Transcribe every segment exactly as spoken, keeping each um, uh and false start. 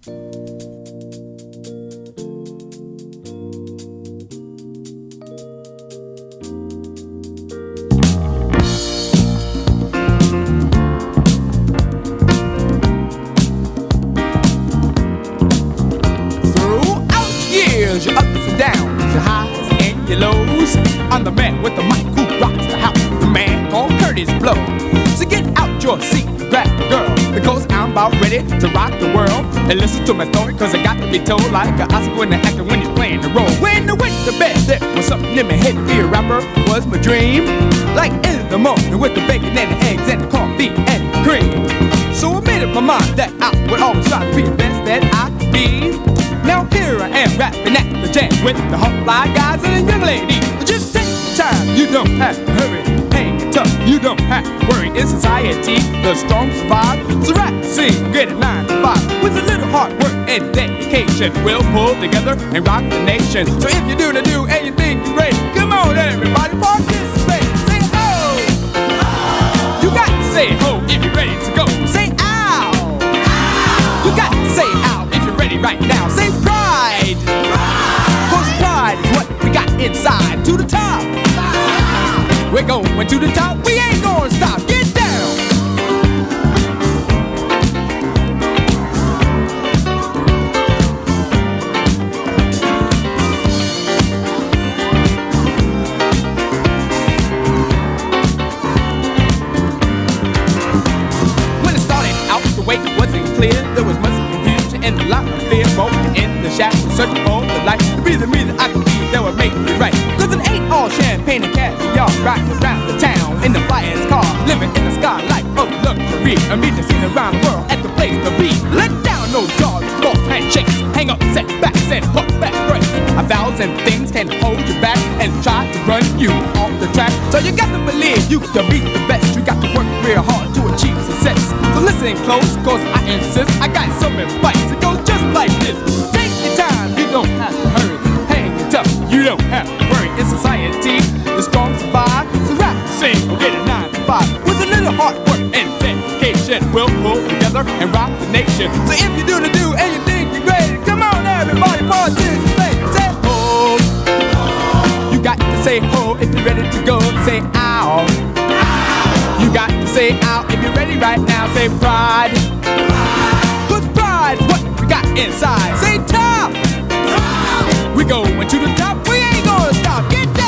Your ups and downs, your highs and your lows. I'm the man with the mic who rocks the house, the man called Curtis Blow. So get out your seat, grab a girl, because I'm about ready to rock the world. And listen to my story, cause I got to be told like an Oscar winner actor when he's playing the role. When I went to bed, there was something in my head to be a rapper was my dream. Like in the morning with the bacon and the eggs and the coffee and the cream. So I made up my mind that I would always try to be the best that I could be. Now here I am rapping at the jam with the hot fly guys and the young ladies. Just take your time, you don't have to hurry. Hang it tough, you don't have to worry. In society, the strong survive. So rap, sing, get it nine to five. With a little hard work and dedication, we'll pull together and rock the nation. So if you do the do and you think you're great, come on everybody, participate. Say ho! You got to say ho if you're ready to go. Say ow! You got to say ow if you're ready right now. Say pride! Cause pride is what we got inside. To the top! We're going to the top, we ain't gonna stop. Get down! When it started out, the way wasn't clear. There was much confusion and a lot of fear. Broken in the shadows, searching for the light. To be the me that I could be, that would make me right. Cause it ain't all champagne and caviar. Riding around the town in the flyest car, living in the sky life of luxury. A meeting seen around the world at the place to be. Let down no jaws, false handshakes. Hang up setbacks and hook back breaks. A thousand things can hold you back and try to run you off the track. So you got to believe you can be the best. You got to work real hard to achieve success. So listen close, cause I insist. I got some advice. It goes just like this. Take your time, you don't have to hurry. Hang it up, you don't have to worry. In society, the strong survive. So rap, sing, or get a nine to five. With a little hard work and dedication, we'll pull together and rock the nation. So if you do the do and you think you're great, come on everybody, participate. Say ho. You got to say ho if you're ready to go. Say ow. You got to say ow if you're ready right now. Say pride. Cause pride's what we got inside. Say top. We going to the top, we ain't gonna stop. Get down.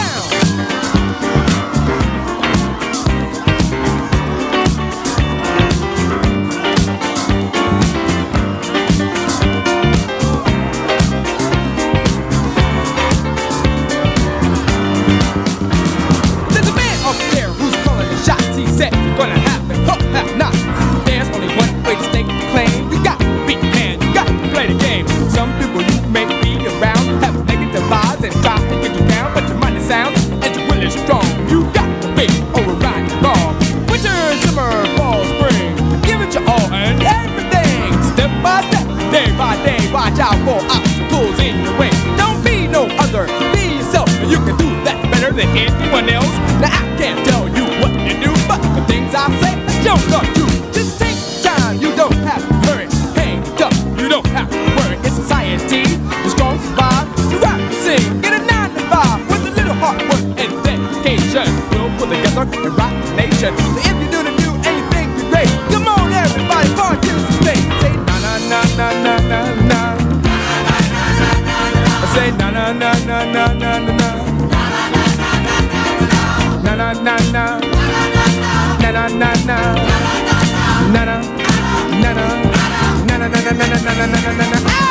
There's a man up there who's calling the shots. He said you're gonna have to hook that knot. There's only one way to stake the claim. You got to beat man, you got to play the game. Some people you may be around have negative vibes and try to get you down, but your money sounds and your will is strong. You got to be over right and wrong. Winter, summer, fall, spring, give it your all and everything. Step by step, day by day, watch out for obstacles in your way. Don't be no other, be yourself, and you can do that better than anyone else. Now I can't tell you what to do, but the things I say, I don't know you. Just take time, you don't have to hurry. Hang it up, you don't have to worry. In society, the strong survive. So rap and sing, get a nine to five. With a little hard work and dedication, we'll pull together and rock the nation. So if you do the do and you think you're great, come on everybody, participate. Say na na na na na na na. Say na na na na na na na. Na na na na. Na na na na. Na na na na na na na na na na na na na.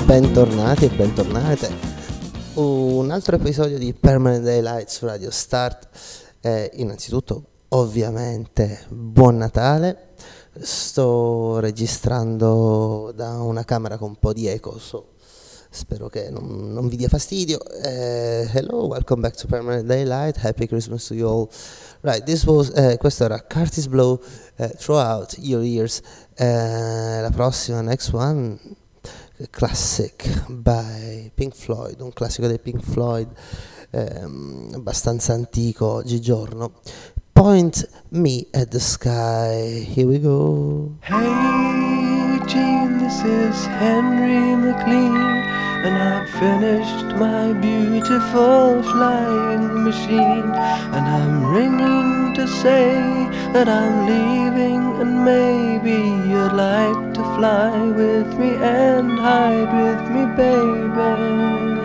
bentornati e bentornate. Un altro episodio di Permanent Daylight su Radio Start. Eh, innanzitutto, ovviamente, buon Natale. Sto registrando da una camera con un po' di eco, so, spero che non, non vi dia fastidio. Uh, hello, welcome back to Permanent Daylight. Happy Christmas to you all. Right, this was, uh, questo era Curtis Blow, uh, Throughout Your Ears. Uh, la prossima, next one, Classic by Pink Floyd, un classico dei Pink Floyd, um, abbastanza antico oggigiorno. Point Me at the Sky. Here we go. Hey Gene, this is Henry McLean, and I've finished my beautiful flying machine, and I'm ringing to say that I'm leaving, and maybe you'd like to fly with me and hide with me, baby.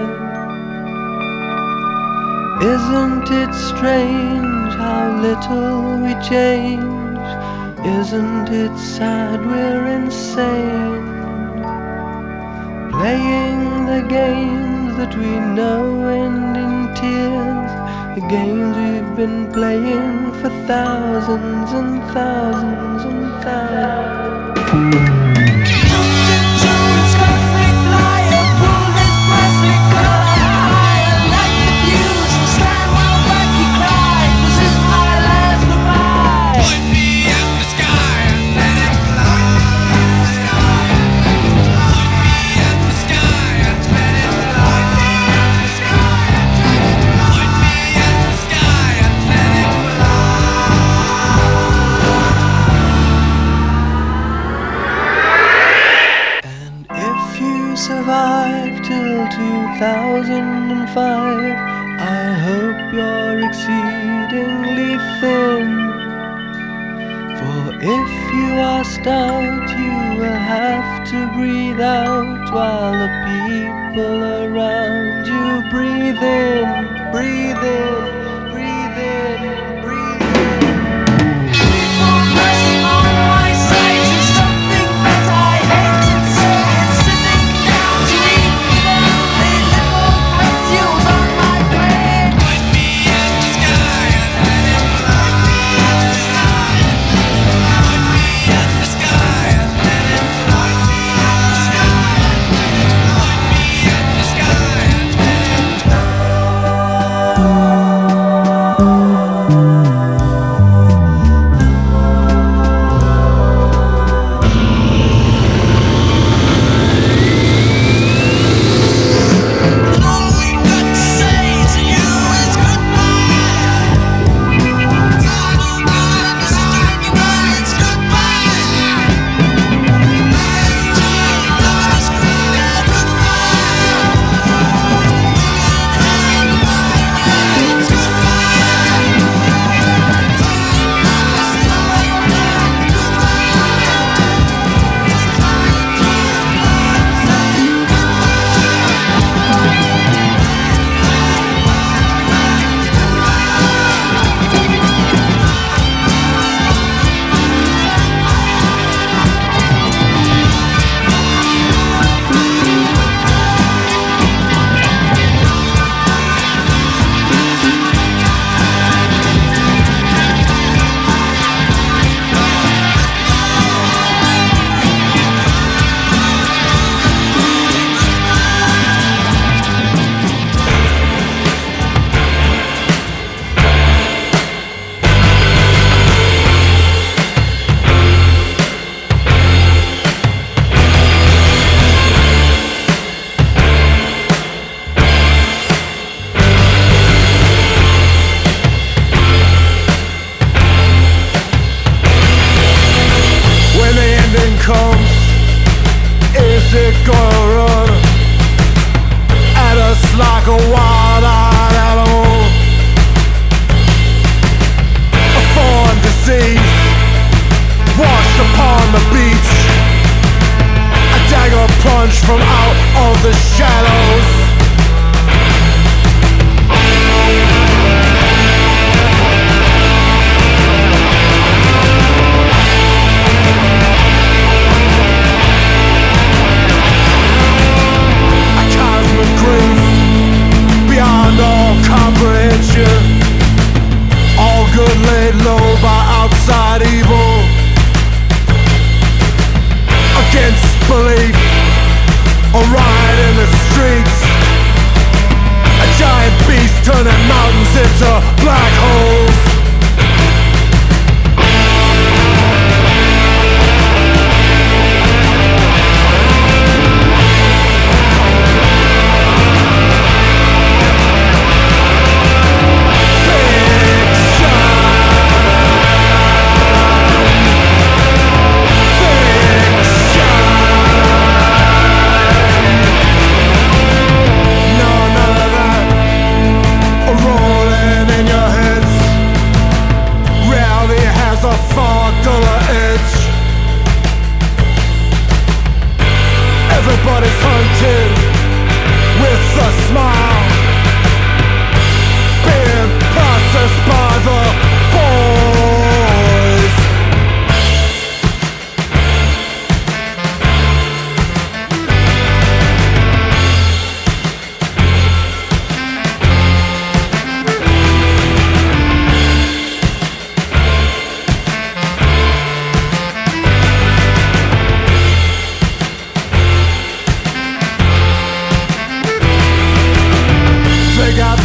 Isn't it strange how little we change? Isn't it sad we're insane? Playing the games that we know end in tears, the games we've been playing for thousands and thousands and thousands. Survive till two thousand five, I hope you're exceedingly thin. For if you are stout, you will have to breathe out while the people around you breathe in, breathe in, breathe in, breathe in. People pressing on my sight is something that I hate. Oh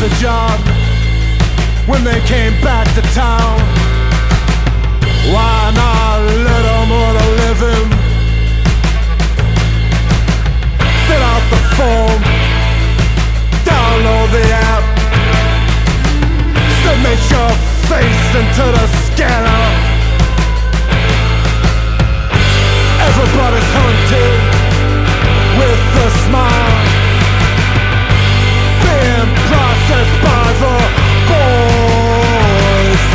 a job when they came back to town. Why not let them earn a living? Fill out the form, download the app, submit your face into the scanner. Everybody's hunted with a smile, being processed by the boys.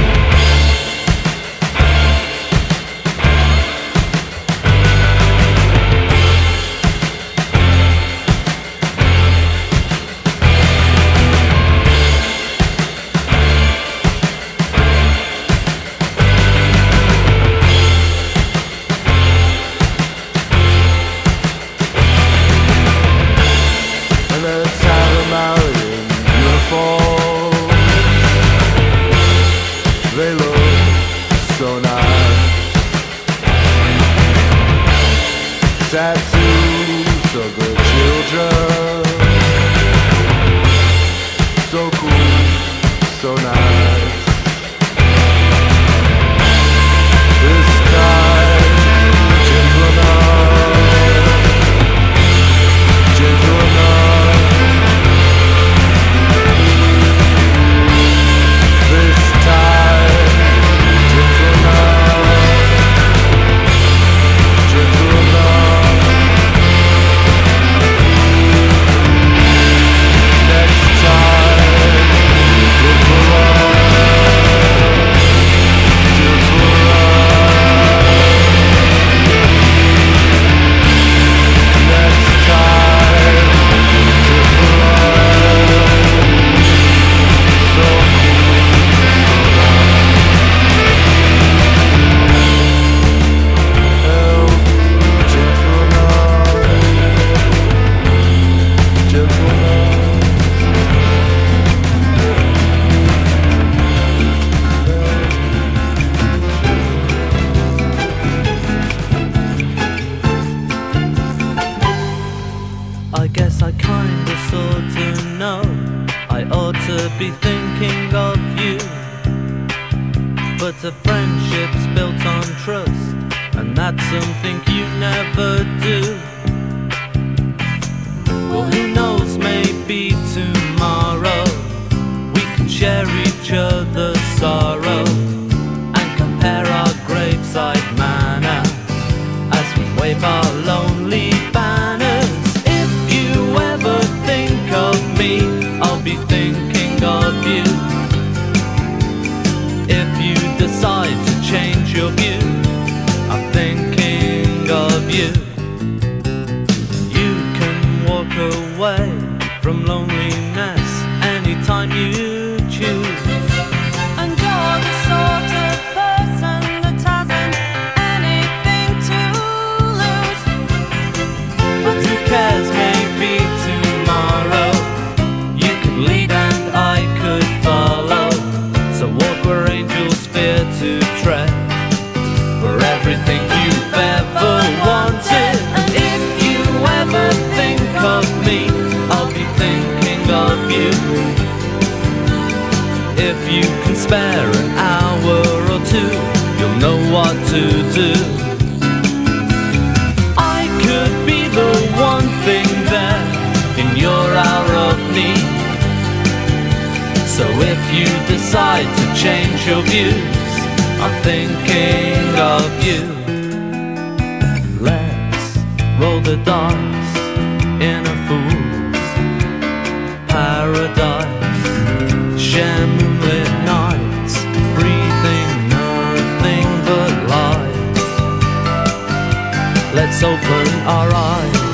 Tattoos of the children, so cool, so nice. This kind, gentle enough, gentle enough. This time, gentle enough, gentle enough. Be thinking of you, but a friendship's built on trust, and that's something you never do. Well, who knows, maybe tomorrow we can share each other's sorrow and compare our graveside manner as we wave our lonely banners. If you ever think of me, I'll be thinking of you. If you decide to change your view, I'm thinking of you. You can walk away from loneliness anytime you choose. And you're the sort of person that hasn't anything to lose. But who cares, maybe tomorrow you could lead and I could follow. So walk where angels fear to tread, for everything you've ever wanted. And if you ever think of me, I'll be thinking of you. If you can spare an hour or two, you'll know what to do. I could be the one thing there in your hour of need. So if you decide to change your views, I'm thinking of you. Let's roll the dice in a fool's paradise. Share moonlit nights, breathing nothing but light. Let's open our eyes.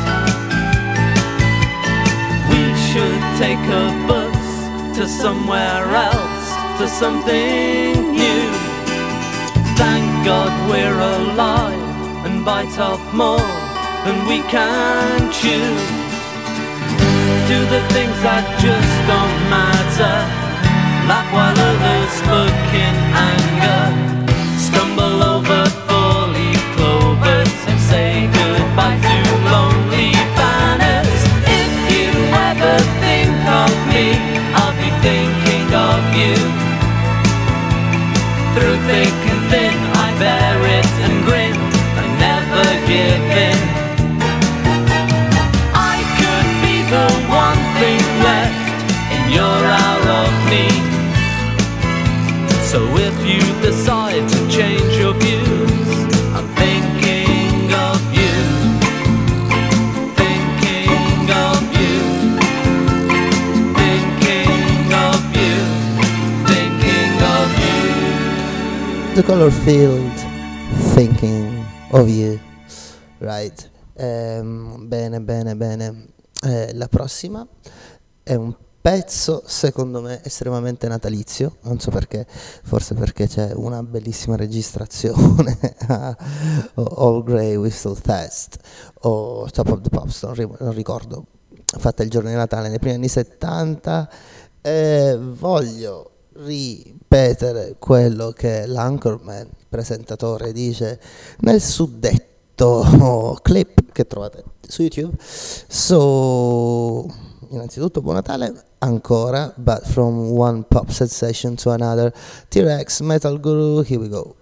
We should take a bus to somewhere else, to something new. Thank God we're alive and bite off more than we can chew. Do the things that just don't matter, laugh while others look in anger, stumble over four-leaf clovers and say goodbye to lonely banners. If you ever think of me, thick and thin, I bear it and grin and never give in. I could be the one thing left in your hour of need. So if you decide to change your views, I'm thinking of you, thinking of you, thinking of you, thinking of you. The Color Field, Thinking of You, right. Ehm, bene, bene, bene. Eh, la prossima è un pezzo secondo me estremamente natalizio, non so perché, forse perché c'è una bellissima registrazione a All Grey Whistle Fest o Top of the Pops, non, ri- non ricordo, fatta il giorno di Natale nei primi anni settanta. E voglio ripetere quello che l'Anchorman, il presentatore, dice nel suddetto clip che trovate su YouTube. So, innanzitutto buon Natale ancora, but from one pop sensation to another, T-Rex, Metal Guru, here we go.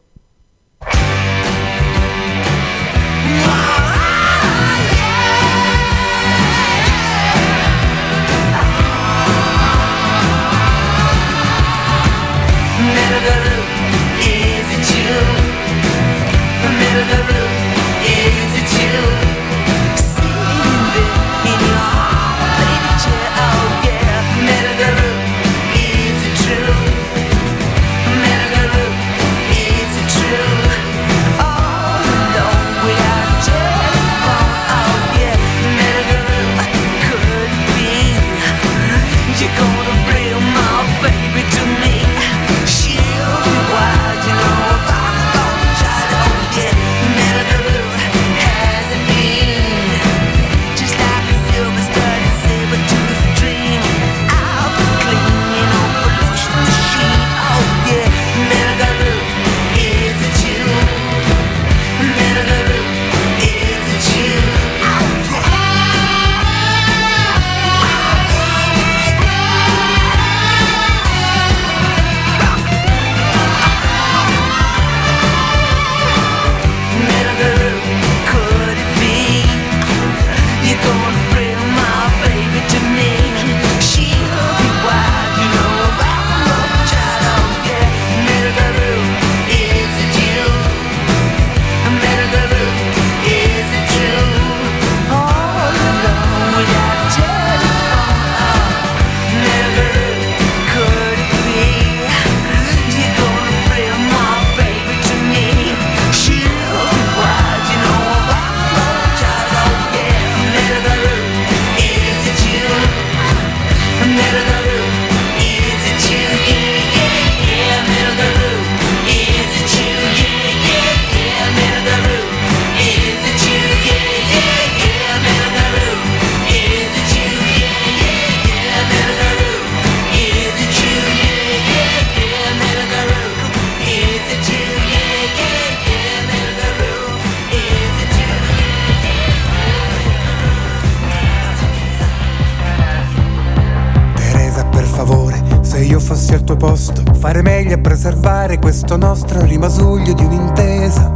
fossi al tuo posto, fare meglio a preservare questo nostro rimasuglio di un'intesa.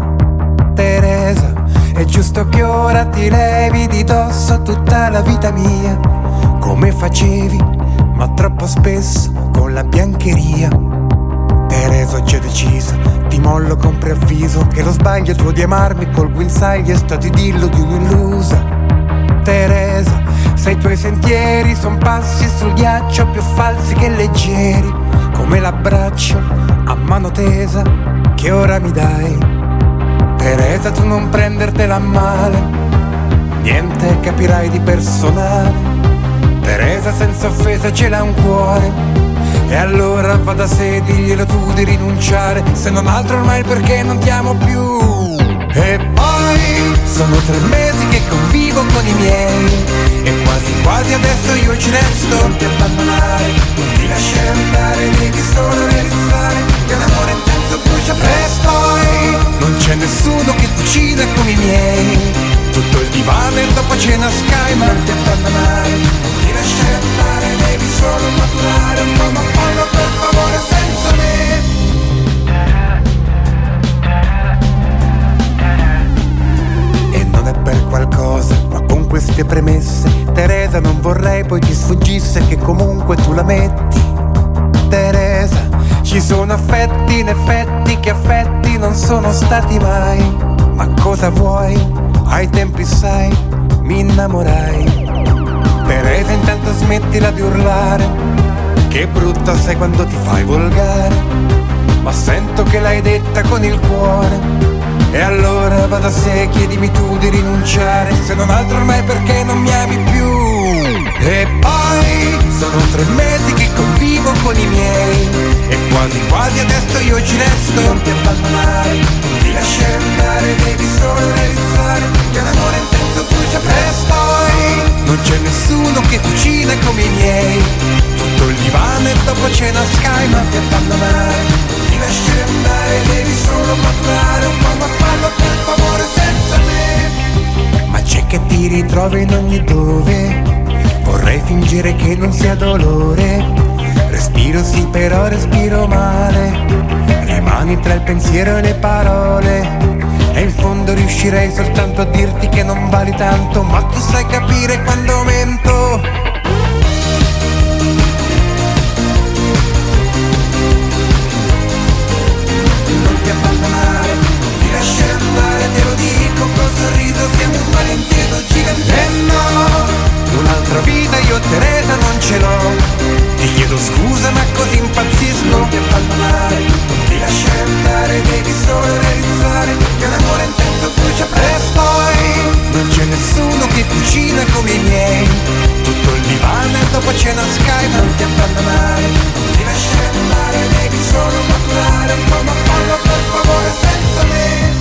Teresa, è giusto che ora ti levi di dosso tutta la vita mia, come facevi, ma troppo spesso con la biancheria. Teresa, oggi ho deciso, ti mollo con preavviso, che lo sbaglio tuo di amarmi col guinzaglio è stato idillo di un'illusa. Teresa, se i tuoi sentieri son passi sul ghiaccio più falsi che leggeri, come l'abbraccio a mano tesa che ora mi dai. Teresa, tu non prendertela a male, niente capirai di personale. Teresa, senza offesa ce l'ha un cuore, e allora va da sé, diglielo tu di rinunciare, se non altro ormai perché non ti amo più. E poi sono tre mesi che convivo con i miei, e quasi quasi adesso io ci resto. Non ti abbandonare, non ti lasciare andare, devi solo realizzare che l'amore intenso brucia presto. E poi non c'è nessuno che cucina come i miei, tutto il divano e dopo cena Sky. Ma non ti abbandonare, non ti lasciare andare, devi solo maturare un po', ma fallo per favore senza me. lei poi ti sfuggisse che comunque tu la metti. Teresa, ci sono affetti in effetti che affetti non sono stati mai. Ma cosa vuoi? Ai tempi sai, mi innamorai. Teresa, intanto smettila di urlare, che brutta sei quando ti fai volgare. Ma sento che l'hai detta con il cuore, e allora va da sé, chiedimi tu di rinunciare, se non altro ormai perché non mi ami più. E poi sono tre mesi che convivo con i miei, e quasi quasi adesso io ci resto. Non ti abbandonare, non ti lasciare andare, devi solo realizzare che un amore intenso brucia presto. E poi non c'è nessuno che cucina come i miei, tutto il divano e dopo cena Sky. Non ti abbandonare, non ti lasciare andare, devi solo maturare un po', ma fallo per favore senza me. Ma c'è che ti ritrovi in ogni dove, vorrei fingere che non sia dolore. Respiro sì però respiro male, rimani tra il pensiero e le parole. E in fondo riuscirei soltanto a dirti che non vali tanto, ma tu sai capire quando mento. Non ti abbandonare, non ti lasciare andare, te lo dico col sorriso, siamo un malinteso gigantesco. E no, un'altra vita io Teresa non ce l'ho, ti chiedo scusa ma così impazzisco. Non ti abbandonare, non ti lasciare andare, devi solo realizzare che un amore intenso brucia presto. E poi non c'è nessuno che cucina come i miei, tutto il divano e dopo cena Sky. Non ti abbandonare, non ti lasciare andare, devi solo maturare un po', ma fallo per favore senza me.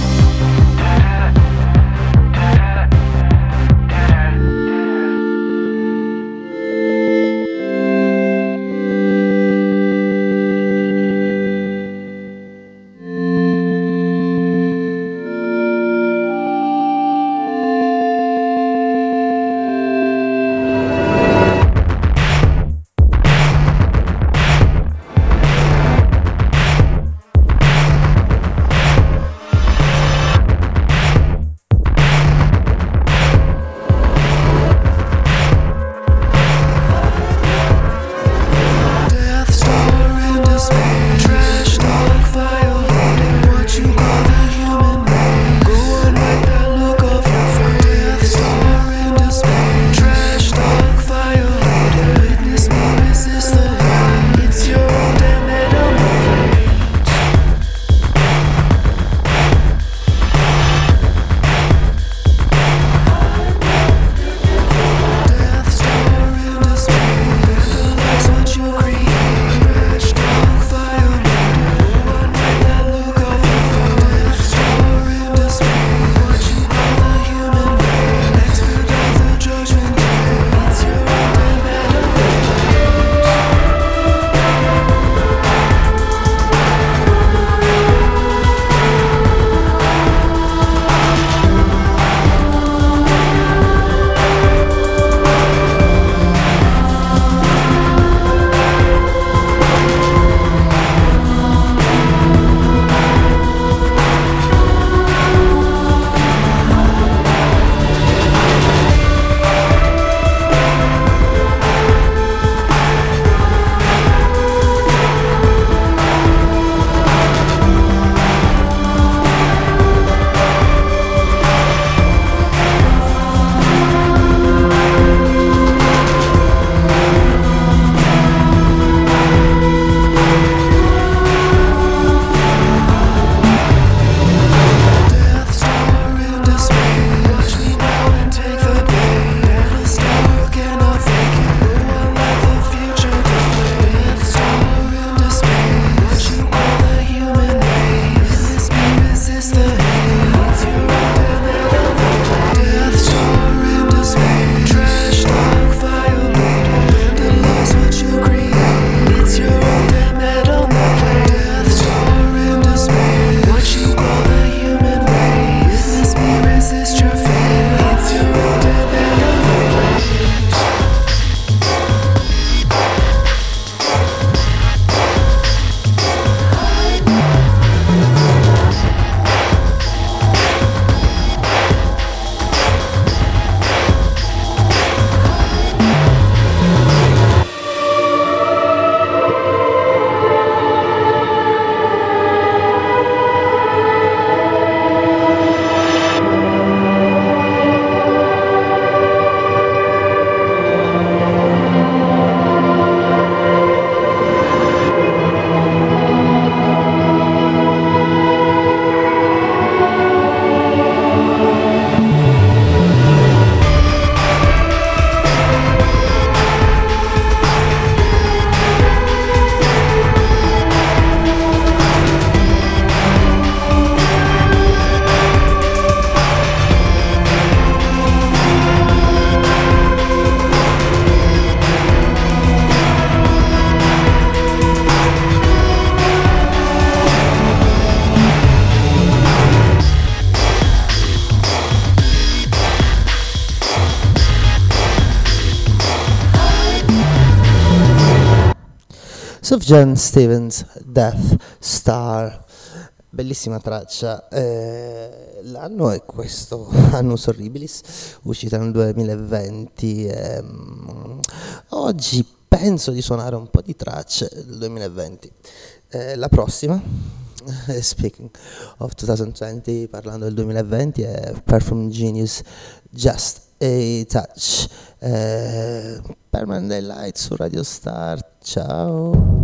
Sufjan Stevens, Death Star. Bellissima traccia, eh, l'anno è questo, Annus Horribilis, uscita nel duemilaventi. ehm, oggi penso di suonare un po' di tracce del duemilaventi. Eh, la prossima, speaking of twenty venti, parlando del duemilaventi, è Perfume Genius, Just a Touch. eh, Permanent Daylight su Radio Start, ciao.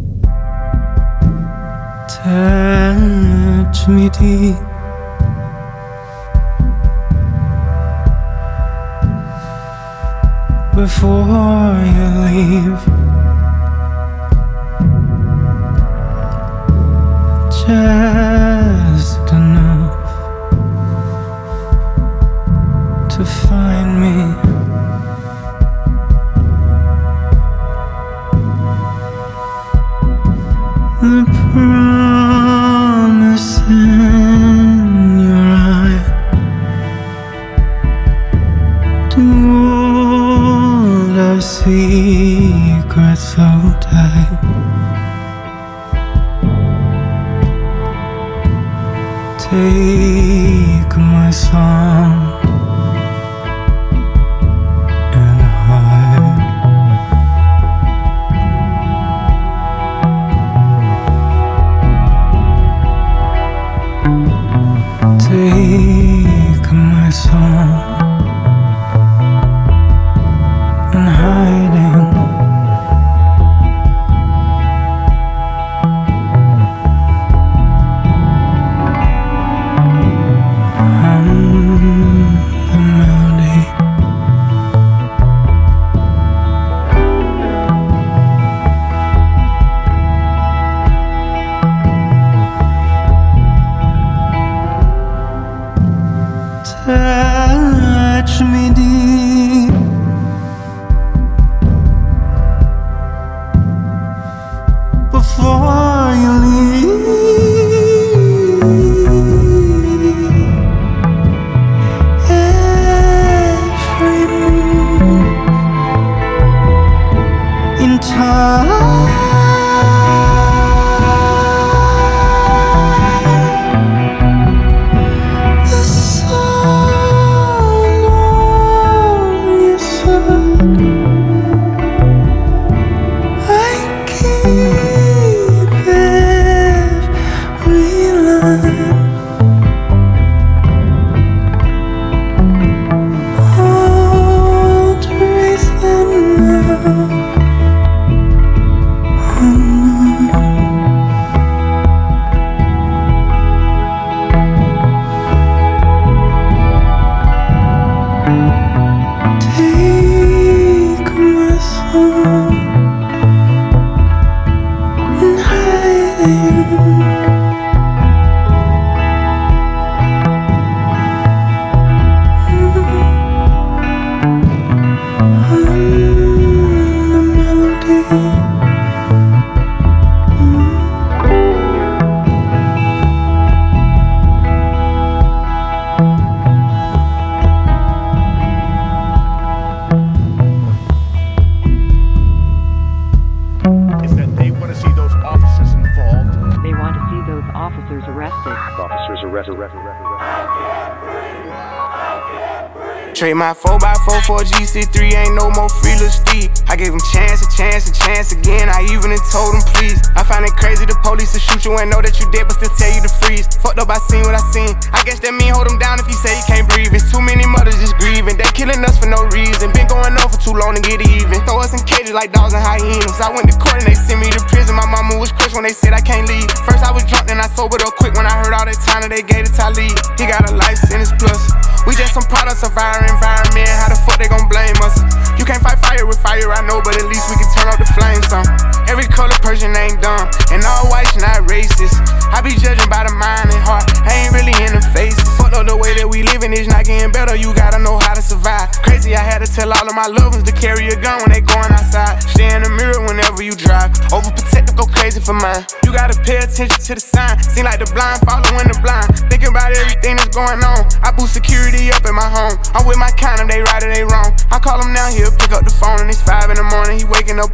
Touch me deep, before you leave. Just enough to find me. The promise in your eye to hold our secrets so tight. Take my song and hide. Take my song and hiding. I'm the melody. Touch me deep, before you leave. Every move in time. The song on your side, I keep every line. I'll trace them now. Take my song and hiding. I'm the melody. Is that they want to see those officers involved. They want to see those officers arrested. Officers arrested, arrested, arrested, Trade my four by four for a G C three, ain't no more free little Steve. I gave him chance, a chance, a chance again. I even told him please. I find it crazy the police will shoot you and know that you dead, but still tell you to freeze. Fucked up, I seen what I seen. I guess that mean hold him down if he say he can't breathe. It's too many mothers just grieving. They killing us for no reason. Been going on for too long to get even. Throw us in cages like dogs and hyenas. I went to court and they sent me to prison. My mama was crushed when they said I can't leave. First I was drunk, then I sobered up quick when I heard all that time that they gave to Talib. He got a life sentence plus. We just some products of our environment. How the fuck they gon' blame us? You can't fight fire with fire, I know, but at least we can turn up the flames on. Every color person ain't dumb, and all whites not racist. I be judging by the mind and heart, I ain't really in the face. Fucked up the way that we living is not getting better, you gotta know how to survive. Crazy, I had to tell all of my loved ones to carry a gun when they going outside. Stay in the mirror whenever you drive, overprotective, go crazy for mine. You gotta pay attention to the sign, seem like the blind following the blind. Thinking about everything that's going on, I boost security up in my home. I'm with my kind of, they right or they wrong. I call him now, he'll pick up the phone and it's five in the morning, he waking up on it.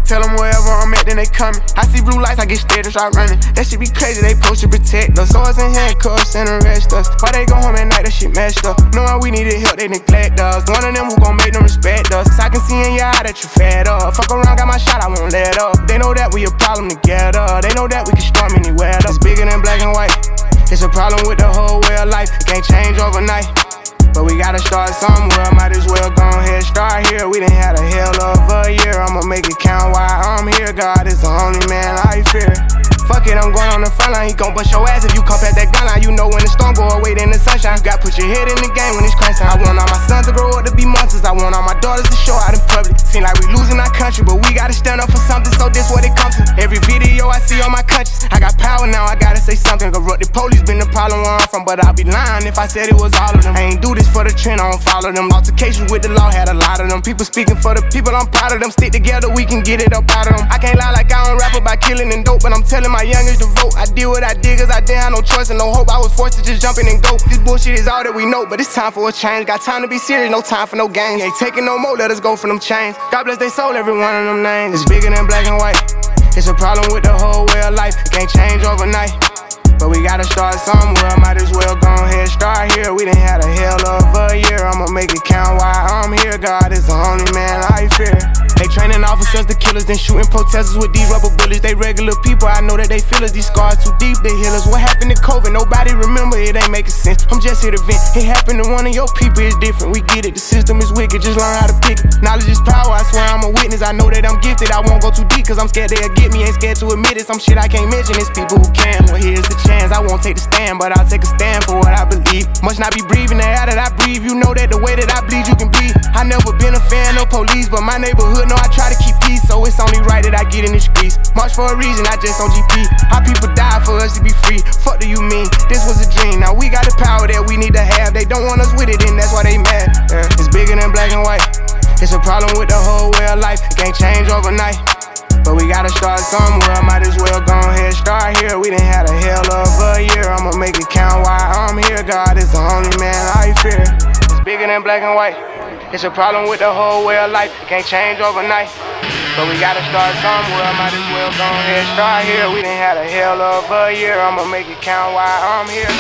Tell them wherever I'm at, then they coming. I see blue lights, I get scared and start running. That shit be crazy, they post to protect us. Swords and handcuffs and arrest us. Why they go home at night, that shit messed up. Knowing we needed help, they neglect us. One of them who gon' make them respect us. I can see in your eye that you fed up. Fuck around, got my shot, I won't let up. They know that we a problem together. They know that we can storm anywhere. It's bigger than black and white. It's a problem with the whole way of life. It can't change overnight. But we gotta start somewhere, might as well go ahead, start here. We done had a hell of a year, I'ma make it count while I'm here. God is the only man I fear. Fuck it, I'm going on the front line. He gon' bust your ass if you come past that gun line. You know when the storm go away, then the sunshine. You gotta put your head in the game when it's crunch time. I want all my sons to grow up to be monsters. I want all my daughters to show out in public. Seem like we losing our country, but we gotta stand up for something, so this what it comes to. Every video I see on my conscience, I got power now, I gotta say something. Corrupted police been the problem where I'm from, but I'd be lying if I said it was all of them. I ain't do this for the trend, I don't follow them. Altercations with the law had a lot of them. People speaking for the people, I'm proud of them. Stick together, we can get it up out of them. I can't lie like I don't rap about killing and dope, but I'm telling my youngest to vote. I did what I did cause I didn't have no choice and no hope. I was forced to just jump in and go. This bullshit is all that we know, but it's time for a change. Got time to be serious, no time for no games. Ain't taking no more, let us go for them chains. God bless they soul, every one of them names. It's bigger than black and white. It's a problem with the whole way of life. It can't change overnight. But we gotta start somewhere, might as well go ahead, start here. We done had a hell of a year, I'ma make it count while I'm here. God is the only man I fear. They training officers, the killers, then shooting protesters with these rubber bullets. They regular people, I know that they feel us. These scars too deep, they heal us. What happened to COVID? Nobody remember, it ain't making sense. I'm just here to vent. It happened to one of your people, it's different. We get it, the system is wicked, just learn how to pick it. Knowledge is power, I swear I'm a witness. I know that I'm gifted, I won't go too deep, cause I'm scared they'll get me. Ain't scared to admit it, some shit I can't mention. It's people who can, well here's the chance. I won't take the stand, but I'll take a stand for what I believe. Must not be breathing the air that I breathe. You know that the way that I bleed, you can bleed. I never been a fan of police, but my neighborhood know I try to keep peace, so it's only right that I get in the streets. March for a reason, I just on G P. How people die for us to be free. Fuck do you mean? This was a dream. Now we got the power that we need to have. They don't want us with it, and that's why they mad. Yeah. It's bigger than black and white. It's a problem with the whole way of life. It can't change overnight. But we gotta start somewhere, might as well go ahead, start here. We done had a hell of a year, I'ma make it count while I'm here. God is the only man I fear. It's bigger than black and white. It's a problem with the whole way of life. It can't change overnight. But we gotta start somewhere, might as well go ahead, start here. We done had a hell of a year, I'ma make it count while I'm here.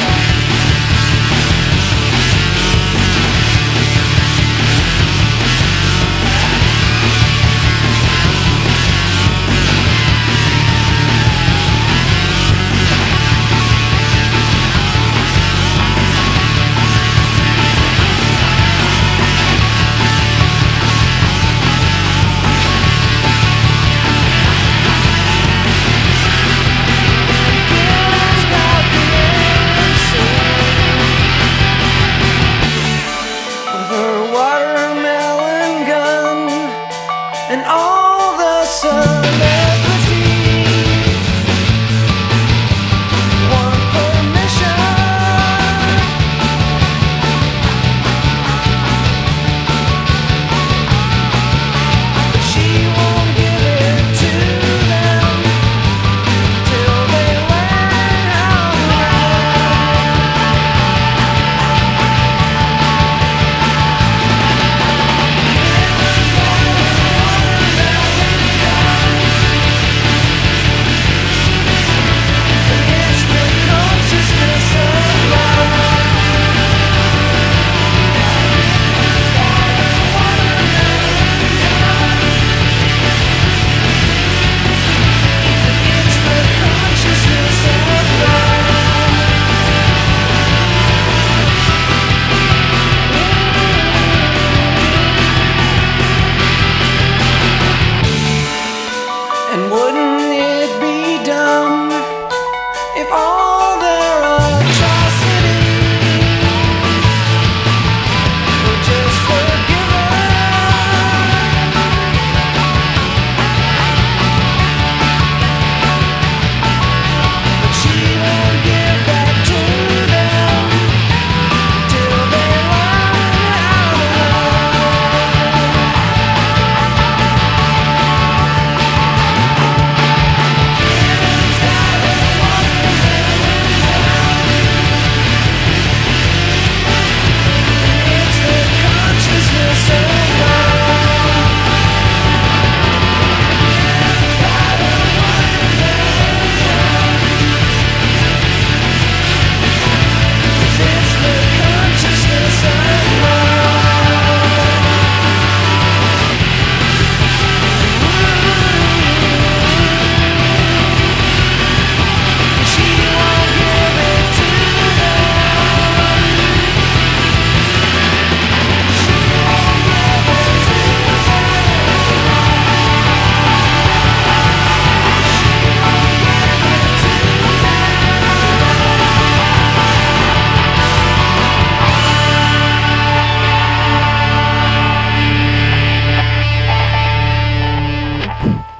Killers got the answer.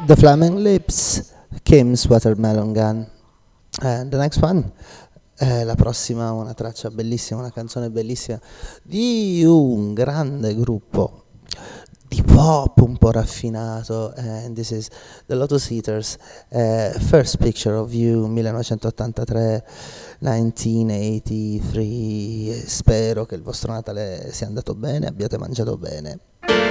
The Flaming Lips, Kim's Watermelon Gun. And the next one, eh, la prossima, una traccia bellissima, una canzone bellissima di un grande gruppo di pop un po' raffinato, and this is The Lotus Eaters, eh, First Picture of You, millenovecentottantatré, millenovecentoottantatré. Spero che il vostro Natale sia andato bene, abbiate mangiato bene.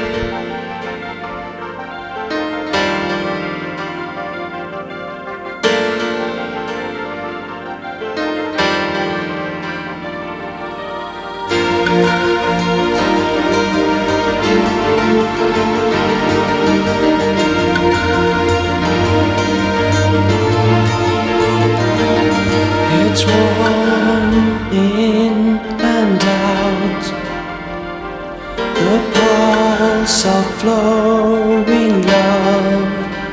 It's warm in and out, the pulse of flowing love.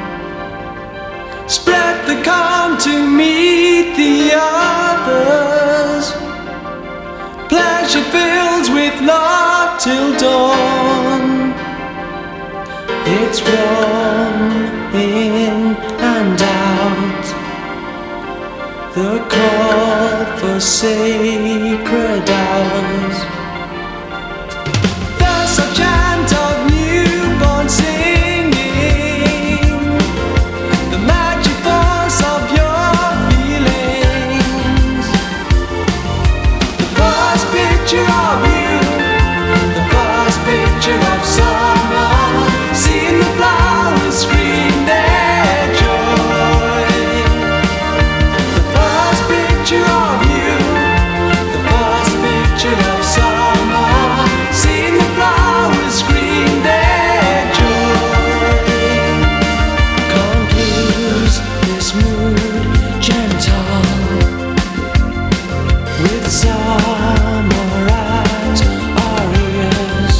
Spread the calm to meet the others. Pleasure fills with love till dawn. It's warm in and out, the call for sacred hours. There's a chant of newborn singing, the magic force of your feelings. The first picture of you, the first picture of summer, seeing the flowers scream their joy. Picture of you, the first picture of summer, seeing the flowers scream their joy. Can't lose this mood gentle, with summer at our ears.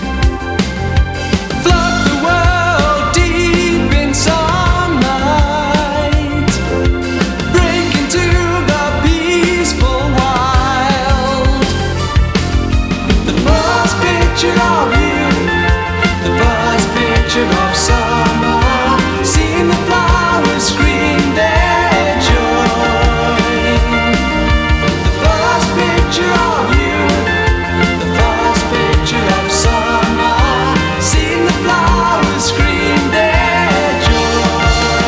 Flood the world deep in sunlight, break into the peaceful wild. The first picture of you, the first picture of summer, seeing the flowers scream their joy. The first picture of you, the first picture of summer, seeing the flowers scream their joy.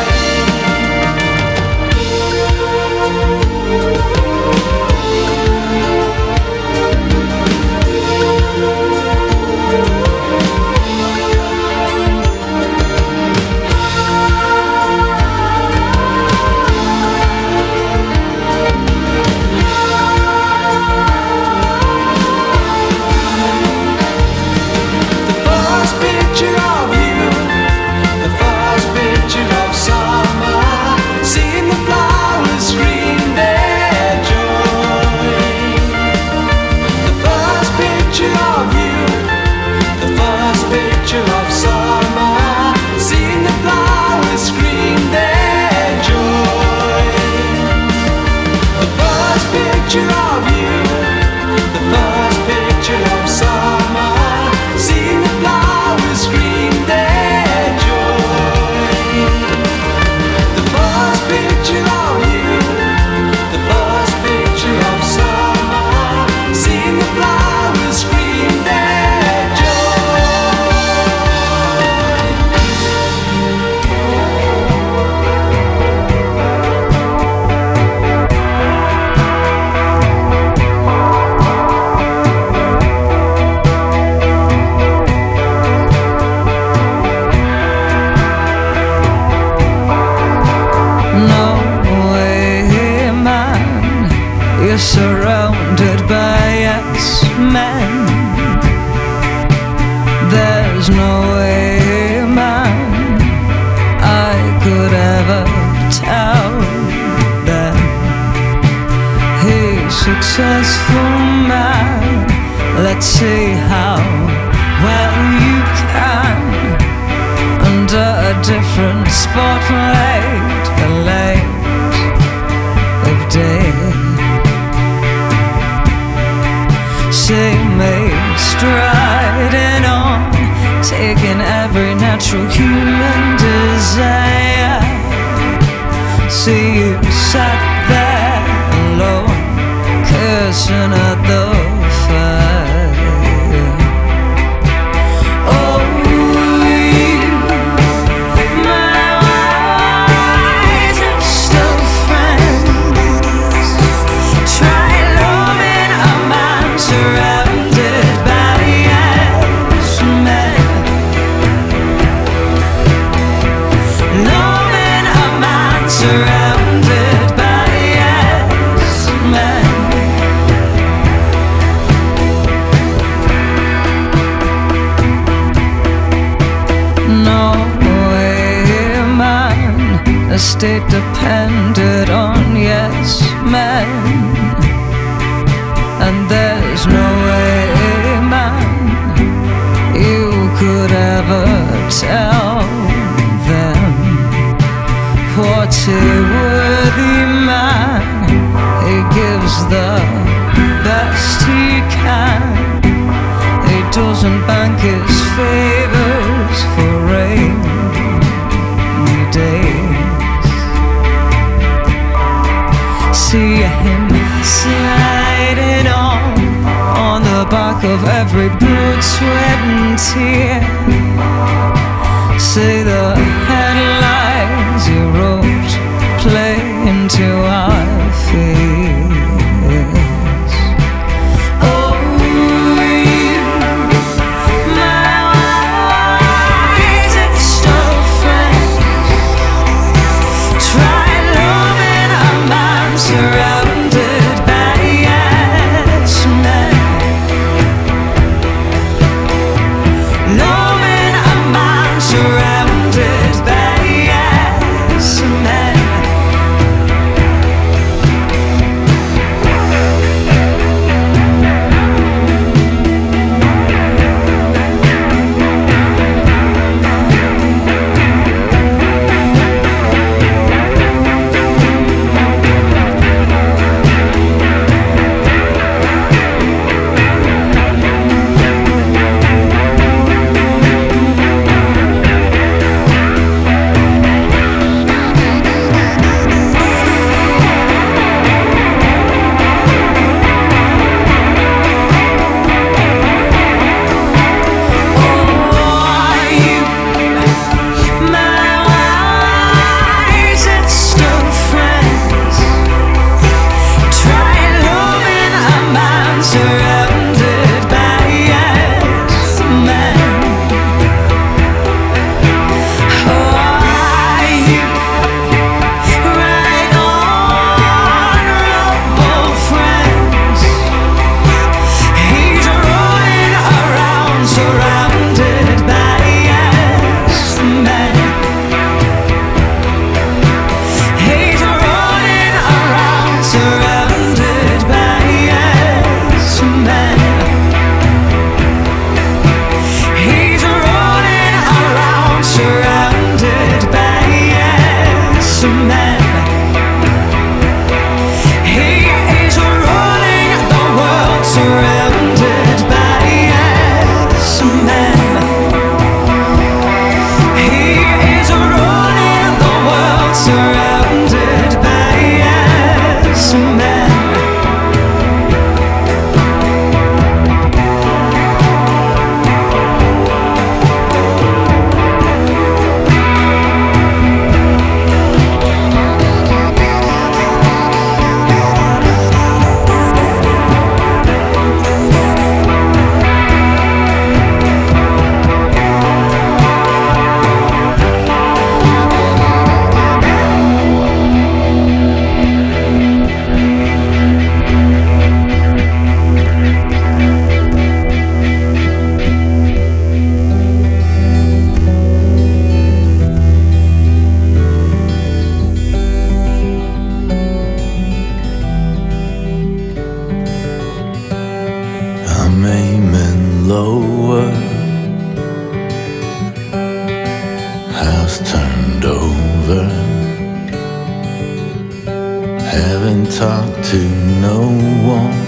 The first picture of you, the first picture of summer, seeing the flowers scream their joy. The first picture of you, the first picture of summer, seeing the flowers scream their joy. The first picture of you, the first picture of summer, seeing the flowers scream their joy. The first picture of you, the first picture of summer, seeing the flowers scream their joy. No way, man, you're surrounded by yes men. There's no way, man, I could ever tell them. He's successful man, let's see how well you can. Under a different spotlight, the light of day. See me striding on, taking every natural human desire. see you sat there alone, cursing at the fire. Oh, you, my wisest of friends, try loving a man surrounded by yes men. Loving a man surrounded by yes men. No way, man, a state depended on yes men. And there's no way, man, you could ever tell them what's a worthy man. He gives the best he can. He doesn't bank his favors for rainy days. See him sliding on on the back of every blood, sweat and tear. Say the headlines he wrote play into our fears. Oh, you, my wisest of friends, try loving a man surrounded by yes men. Loving a man surrounded by yes men. Haven't talked to no one.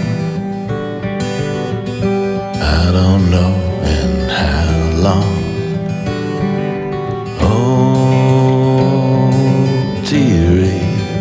I don't know in how long. Oh, dearie,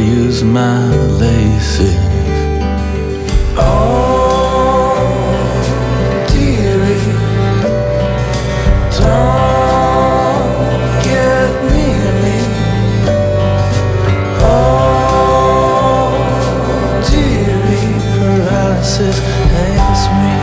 use my laces. Oh, dearie, don't get near me. Oh, dearie, paralysis has me.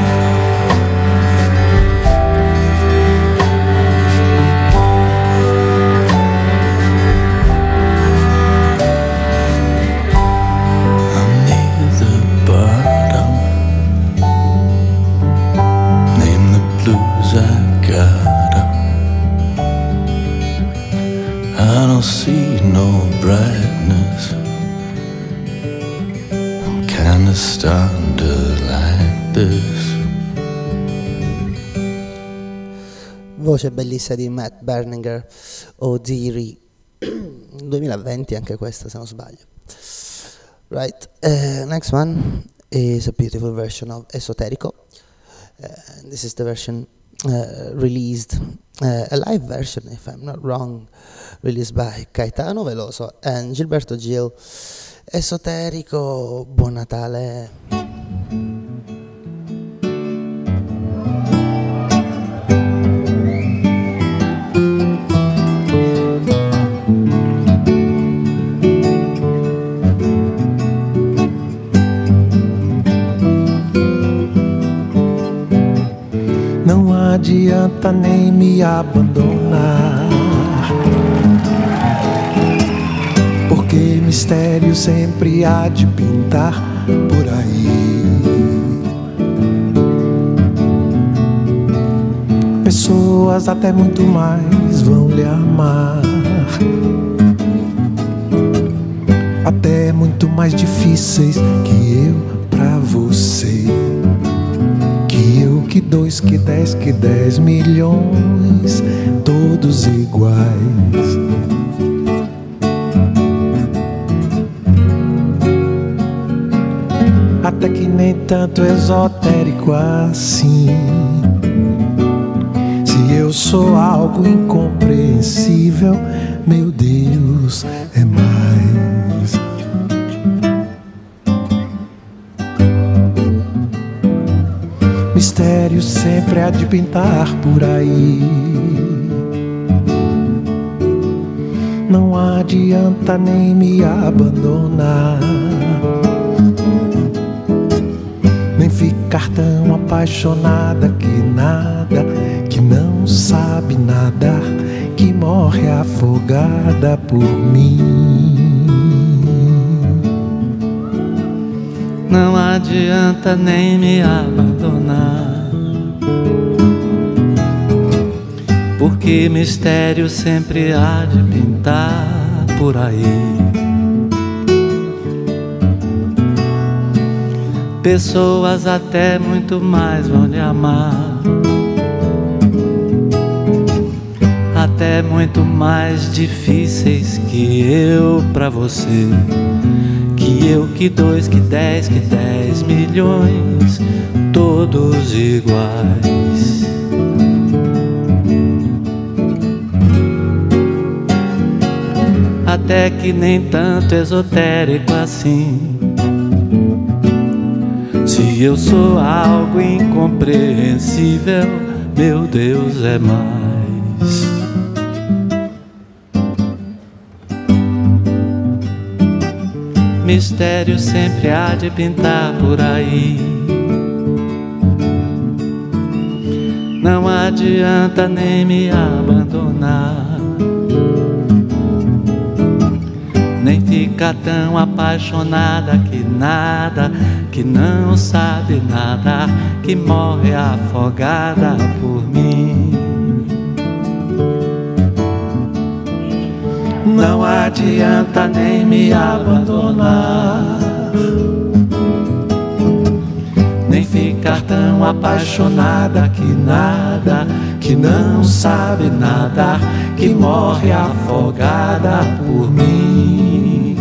I don't see no brightness. I'm kinda starting to like this. Voce bellissima di Matt Berninger, o Deary, duemilaventi anche questa se non sbaglio. Right, uh, next one is a beautiful version of Esoterico. Uh, this is the version uh, released, uh, a live version if I'm not wrong, released by Caetano Veloso and Gilberto Gil. Esoterico, buon Natale. Não adianta nem me abandonar, porque mistério sempre há de pintar por aí. Pessoas até muito mais vão lhe amar, até muito mais difíceis que eu pra você. Que eu, que dois, que dez, que dez milhões, todos iguais. Até que nem tanto esotérico assim. Se eu sou algo incompreensível, meu Deus, é mais. Mistério sempre há de pintar por aí. Não adianta nem me abandonar, nem ficar tão apaixonada que nada, que não sabe nadar, que morre afogada por mim. Não adianta nem me abandonar, porque mistério sempre há de pintar por aí. Pessoas até muito mais vão lhe amar, até muito mais difíceis que eu pra você. Que eu, que dois, que dez, que dez milhões, todos iguais. Até que nem tanto esotérico assim. Se eu sou algo incompreensível, meu Deus, é mais. Mistério sempre há de pintar por aí. Não adianta nem me abandonar, nem ficar tão apaixonada que nada, que não sabe nadar, que morre afogada por mim. Não adianta nem me abandonar, nem ficar tão apaixonada que nada, que não sabe nadar, que morre afogada por mim.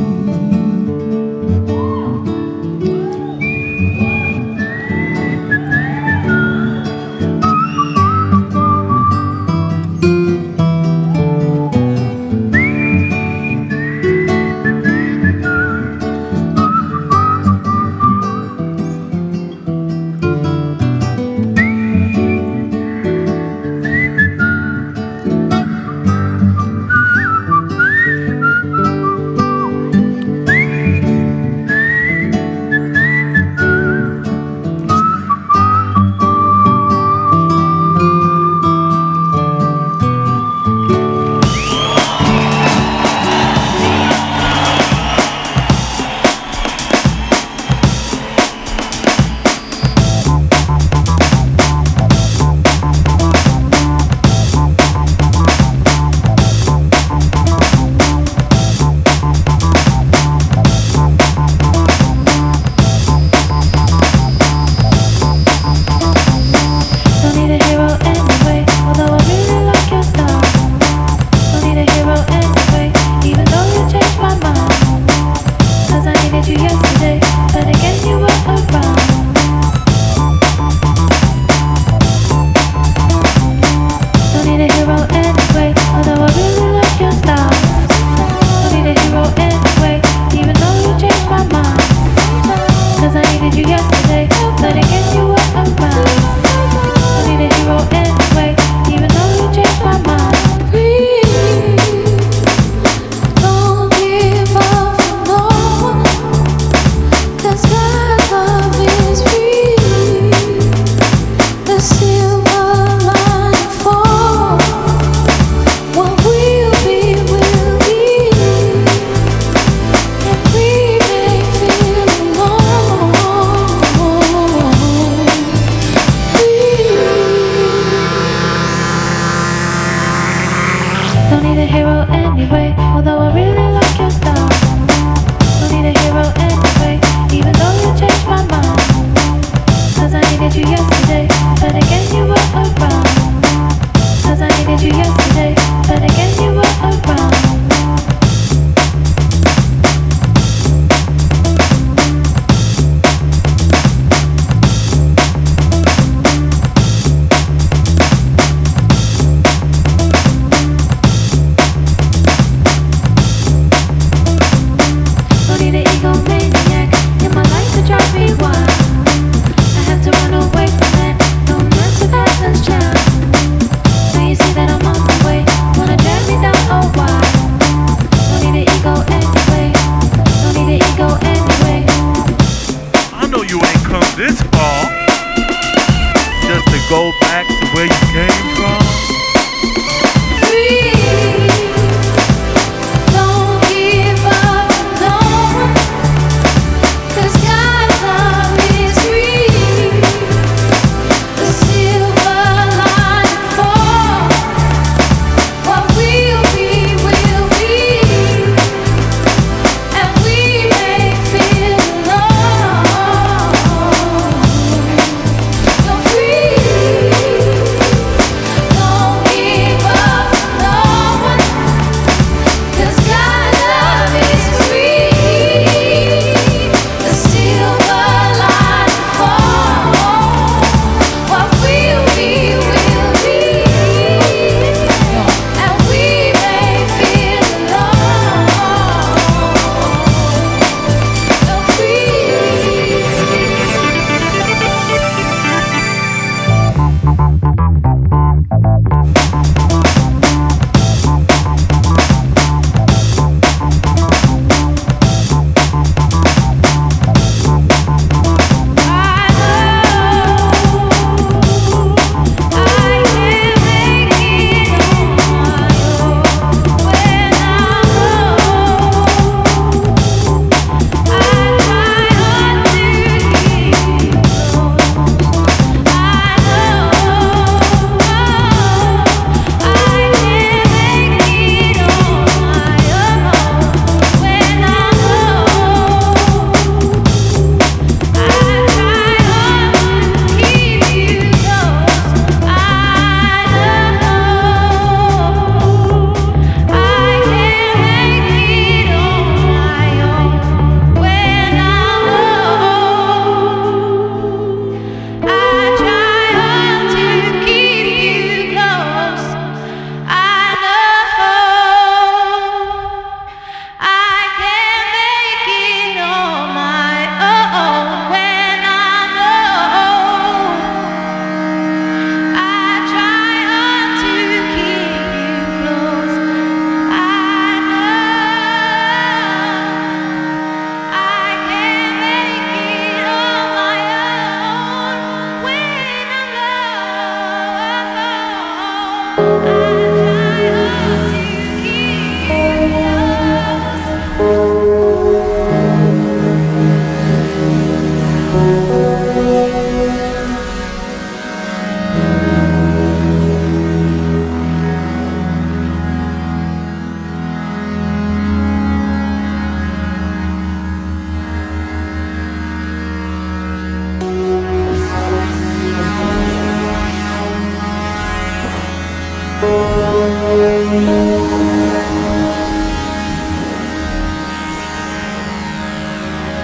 you yesterday, but again you were around. Don't need a hero anyway, although I really like your style. Don't need a hero anyway, even though you changed my mind. Cause I needed you yesterday, but again you were around. Don't need a hero anyway, even though you changed my mind. Don't give up for no one, 'cause God's love is free. The silver lining for what will be, will be. And we may feel alone. Don't need a hero anyway, although I really like your style. Don't need a hero anyway, even though you changed my mind. Cause I needed you yesterday, but again you were around. Cause I needed you yesterday, but again you were around. Don't need an egomaniac in my life to drive me wild. I have to run away from that, no mess with Athens child. Now you see that I'm on my way, wanna drag me down, oh why? Don't need an ego anyway, don't need an ego anyway. I know you ain't come this far just to go back to where you came from. Don't give up, no, 'cause God's love is free. The silver lining for what will be, will be. And we may feel alone. You're free.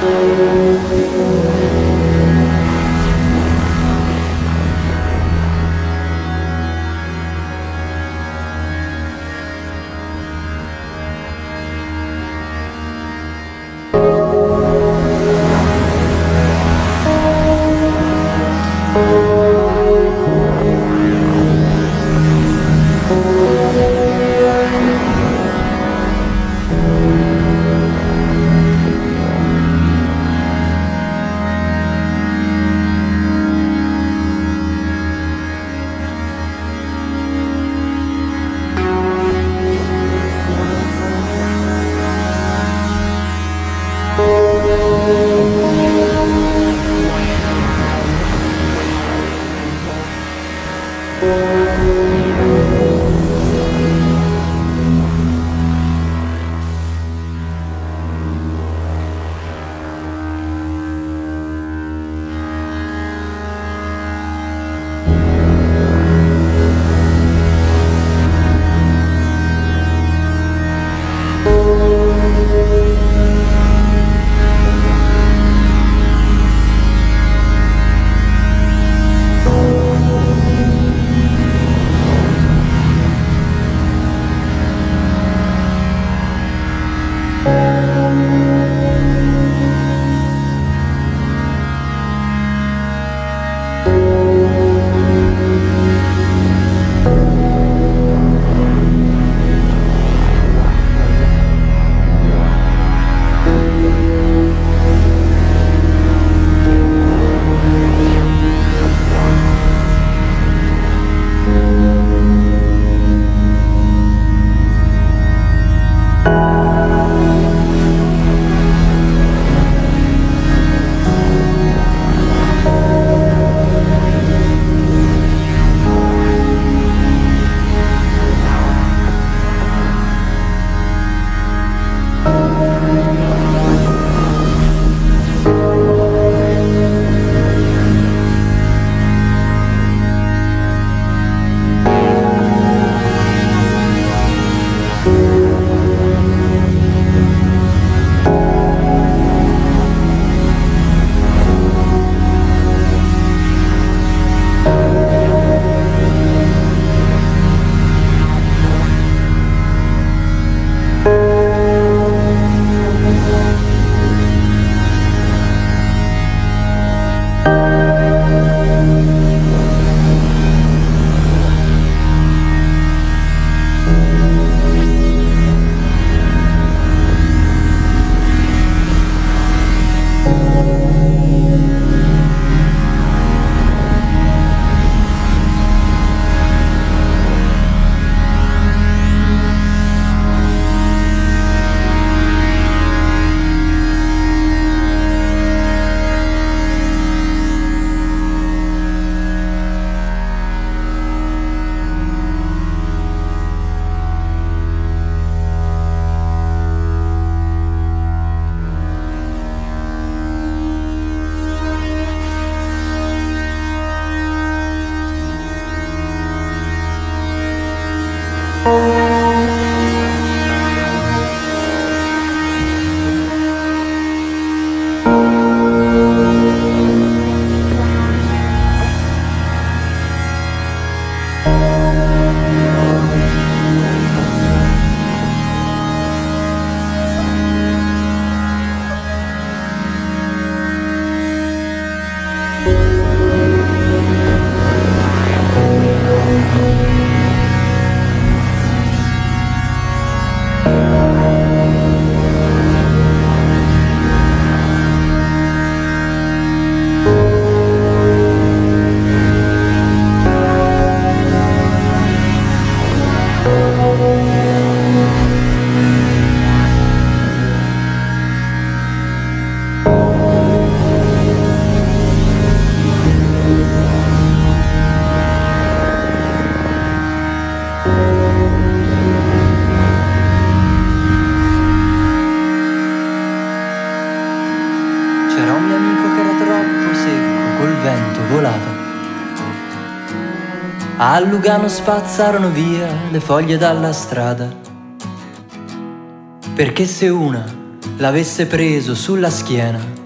A Lugano spazzarono via le foglie dalla strada, perché se una l'avesse preso sulla schiena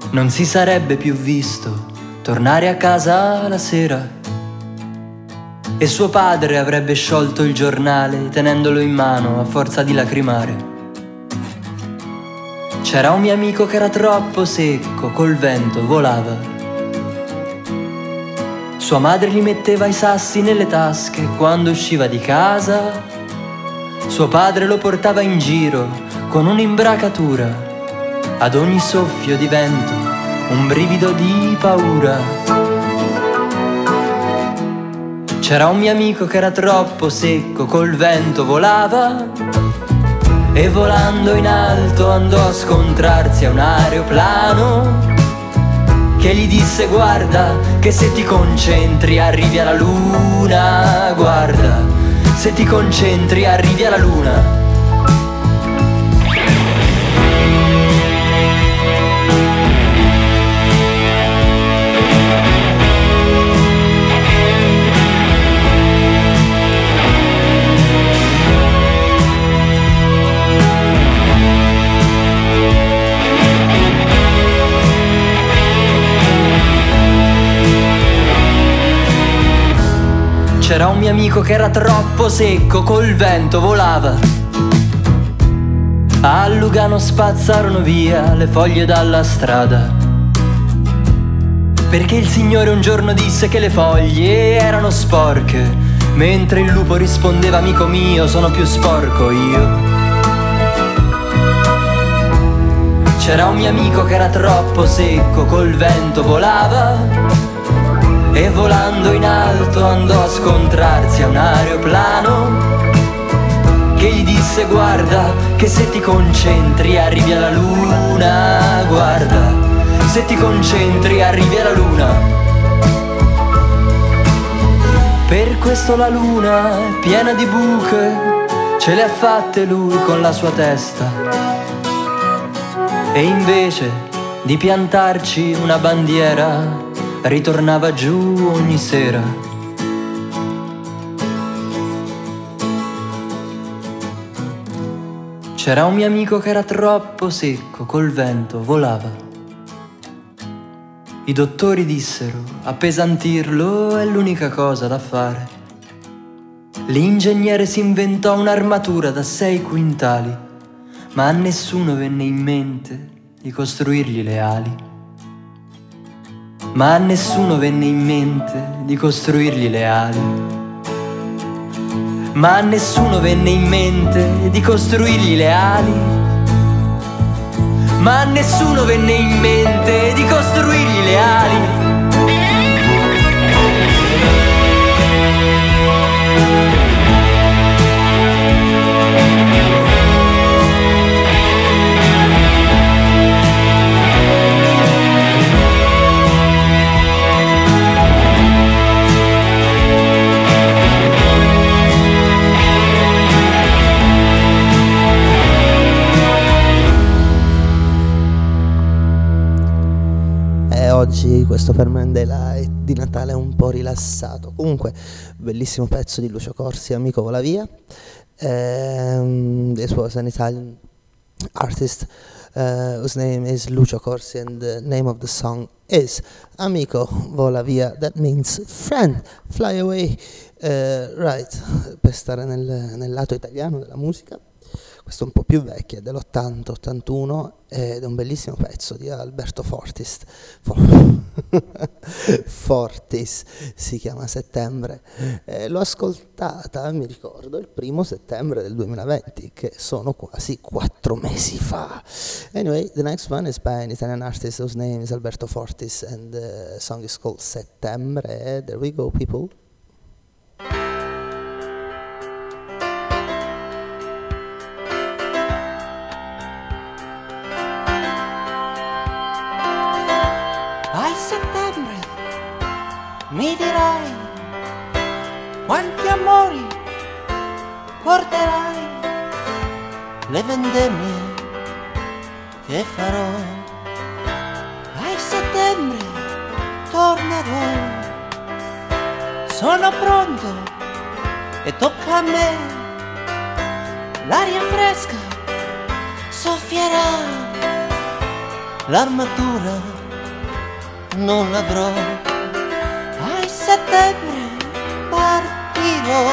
non si sarebbe più visto tornare a casa la sera. E suo padre avrebbe sciolto il giornale tenendolo in mano a forza di lacrimare. C'era un mio amico che era troppo secco, col vento volava. Sua madre gli metteva i sassi nelle tasche quando usciva di casa. Suo padre lo portava in giro con un'imbracatura. Ad ogni soffio di vento un brivido di paura. C'era un mio amico che era troppo secco, col vento volava. E volando in alto andò a scontrarsi a un aeroplano che gli disse: guarda che se ti concentri arrivi alla luna. Guarda, se ti concentri arrivi alla luna. C'era un mio amico che era troppo secco, col vento volava. A Lugano spazzarono via le foglie dalla strada, perché il Signore un giorno disse che le foglie erano sporche, mentre il lupo rispondeva: amico mio, sono più sporco io. C'era un mio amico che era troppo secco, col vento volava. E volando in alto andò a scontrarsi a un aeroplano che gli disse: guarda che se ti concentri arrivi alla luna. Guarda, se ti concentri arrivi alla luna. Per questo la luna è piena di buche, ce le ha fatte lui con la sua testa. E invece di piantarci una bandiera ritornava giù ogni sera. C'era un mio amico che era troppo secco, col vento volava. I dottori dissero: appesantirlo è l'unica cosa da fare. L'ingegnere si inventò un'armatura da sei quintali, ma a nessuno venne in mente di costruirgli le ali. Ma a nessuno venne in mente di costruirgli le ali. Ma a nessuno venne in mente di costruirgli le ali. Ma a nessuno venne in mente di costruirgli le ali. Oggi questo Permanent Daylight di Natale è un po' rilassato. Comunque, bellissimo pezzo di Lucio Corsi, Amico vola via. Um, this was an Italian artist uh, whose name is Lucio Corsi and the name of the song is Amico vola via. That means friend, fly away. Uh, right, per stare nel, nel lato italiano della musica. Questo è un po' più vecchio, è dell'ottanta ottantuno ed è un bellissimo pezzo di Alberto Fortis. For- Fortis si chiama Settembre. Eh, l'ho ascoltata, mi ricordo, il primo settembre del duemilaventi, che sono quasi quattro mesi fa. Anyway, the next one is by an Italian artist whose name is Alberto Fortis and the song is called Settembre. There we go, people. Mi dirai quanti amori porterai, le vendemmie che farò. A settembre tornerò, sono pronto e tocca a me. L'aria fresca soffierà l'armatura non l'avrò. A settembre partirò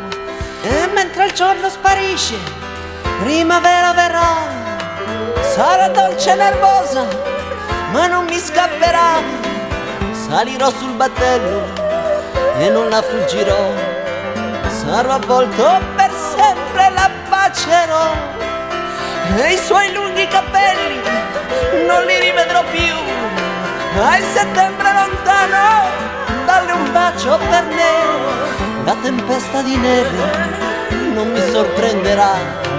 e mentre il giorno sparisce, primavera verrà. Sarà dolce e nervosa, ma non mi scapperà. Salirò sul battello e non la fuggirò. Sarò avvolto per sempre, la bacerò. E i suoi lunghi capelli non li rivedrò più. Ma il settembre lontano, dalle un bacio per me. La tempesta di neve non mi sorprenderà.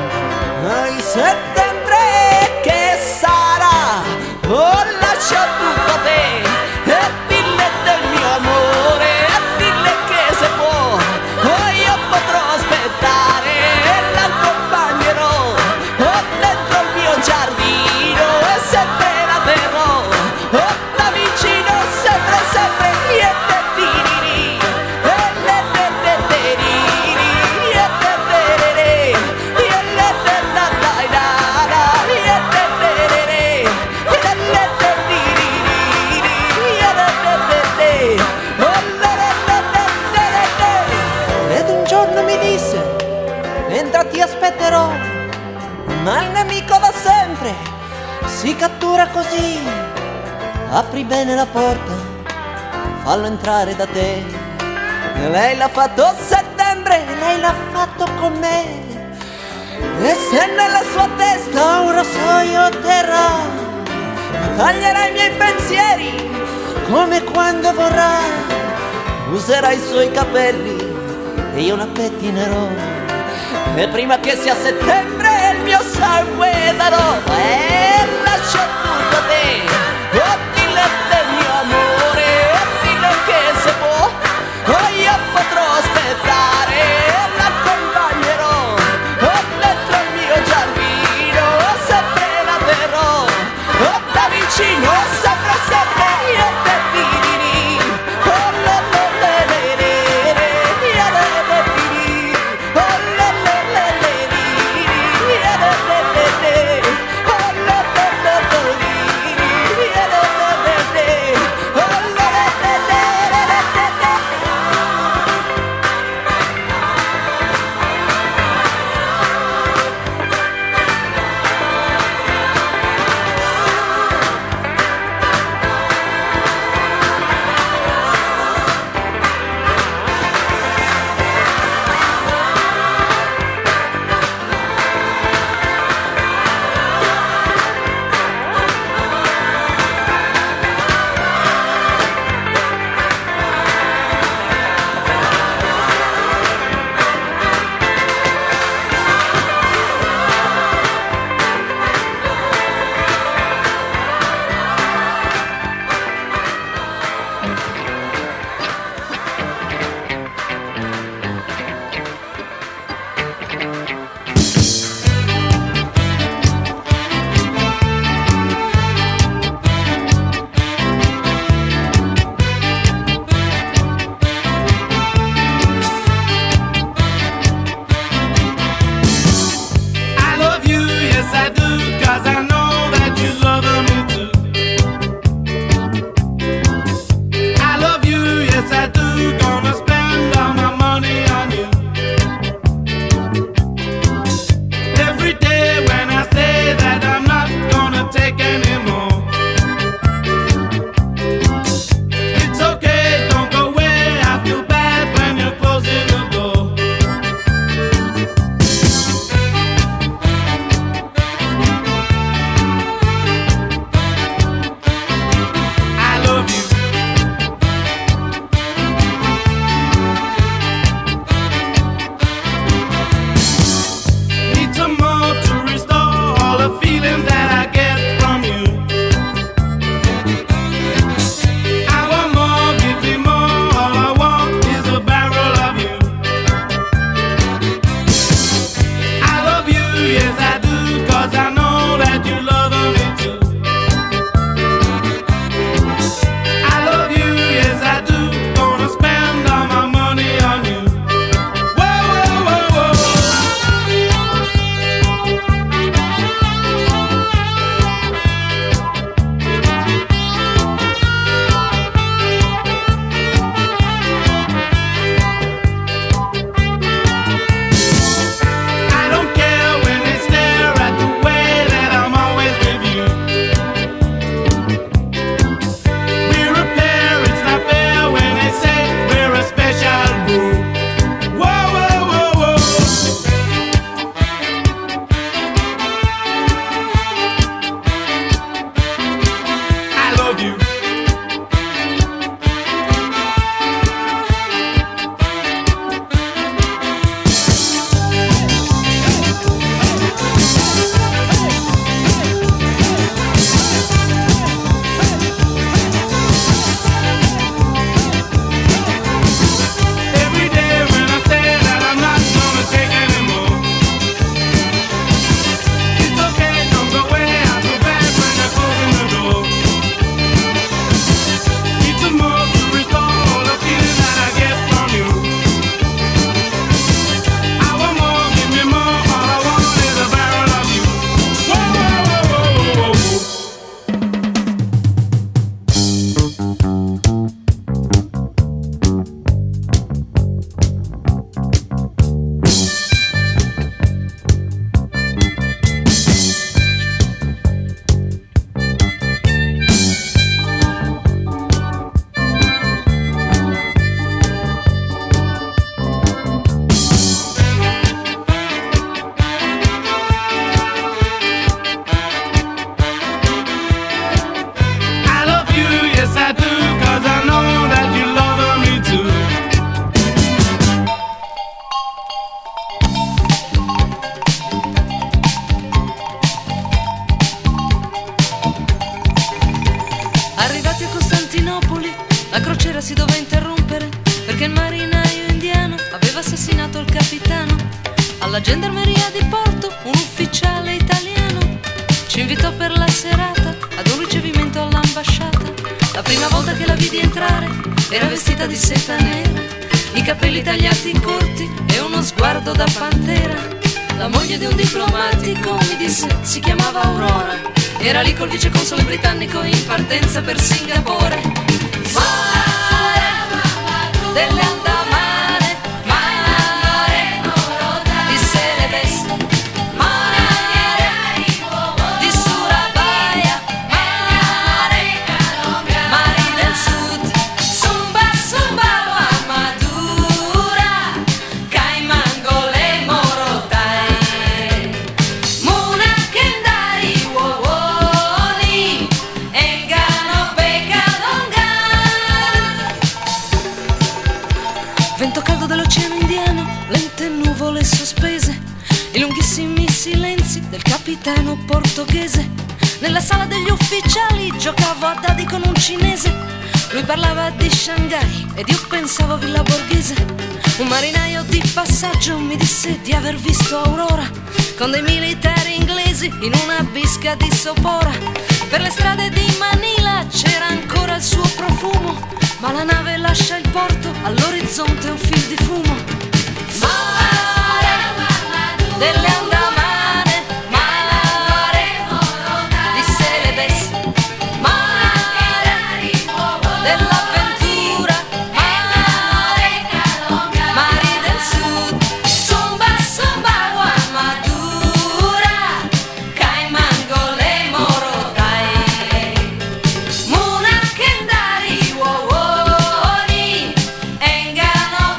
Ma il settembre che sarà, oh lascia tutto a te. E dille del mio amore, e dille che se può, oh io potrò aspettare e l'accompagnerò. Oh dentro il mio giardino e sempre la terrò. Oh da vicino sempre sempre niente tiriri. E le te te teriri, e te terere, e le te da dai da da, e te terere, e le te tiriri, e le te te te, oh le le le le le le. Ed un giorno mi disse, entra ti aspetterò. Ma il nemico da sempre si cattura così. Apri bene la porta, fallo entrare da te. E lei l'ha fatto a settembre, lei l'ha fatto con me. E se nella sua testa un rasoio terrà, taglierà i miei pensieri come quando vorrà. Userà i suoi capelli e io la pettinerò. E prima che sia settembre il mio sangue darò. E lascio tutto a te. Oh dille del mio amore, e dille che se può, oh io potrò aspettare e l'accompagnerò. Oh dentro il mio giardino sempre la terrò. Oh da vicino sempre sempre io te dirì. Oh le le le le le le, io le le dirì. Oh le le le le le, io le le le le. Oh le le le le le, io le le le le. Arrivati a Costantinopoli, la crociera si doveva interrompere perché il marinaio indiano aveva assassinato il capitano. Alla gendarmeria di Porto un ufficiale italiano ci invitò per la serata ad un ricevimento all'ambasciata. La prima volta che la vidi entrare era vestita di seta nera, i capelli tagliati corti e uno sguardo da pantera. La moglie di un diplomatico mi disse si chiamava Aurora, era lì col viceconsole britannico in partenza per Singapore. Mare delle Andamane, mare di Celebes, mare di Surabaya, mare, mari del sud, Sumba, Sumbawa, Madura, Cayman, Gole, Morotai, Muna, Kendari, Wowoni, Engano, Pecadongan. Vento caldo dell'oceano indiano, lente nuvole sospese, i lunghissimi silenzi del capitano portoghese. Nella sala degli ufficiali giocavo a dadi con un cinese, lui parlava di Shanghai ed io pensavo a Villa Borghese. Un marinaio di passaggio mi disse di aver visto Aurora con dei militari inglesi in una bisca di sopora. Per le strade di Manila c'era ancora il suo profumo, ma la nave lascia il porto, all'orizzonte un fil di fumo. Mare delle Andamane, mare di Celebes, mare dell'avventura, mare, mari del sud, Sumba, Sumbawa, Madura, Cayman, Gole, Morotai, Muna, Kendari, Wowoni, Engano,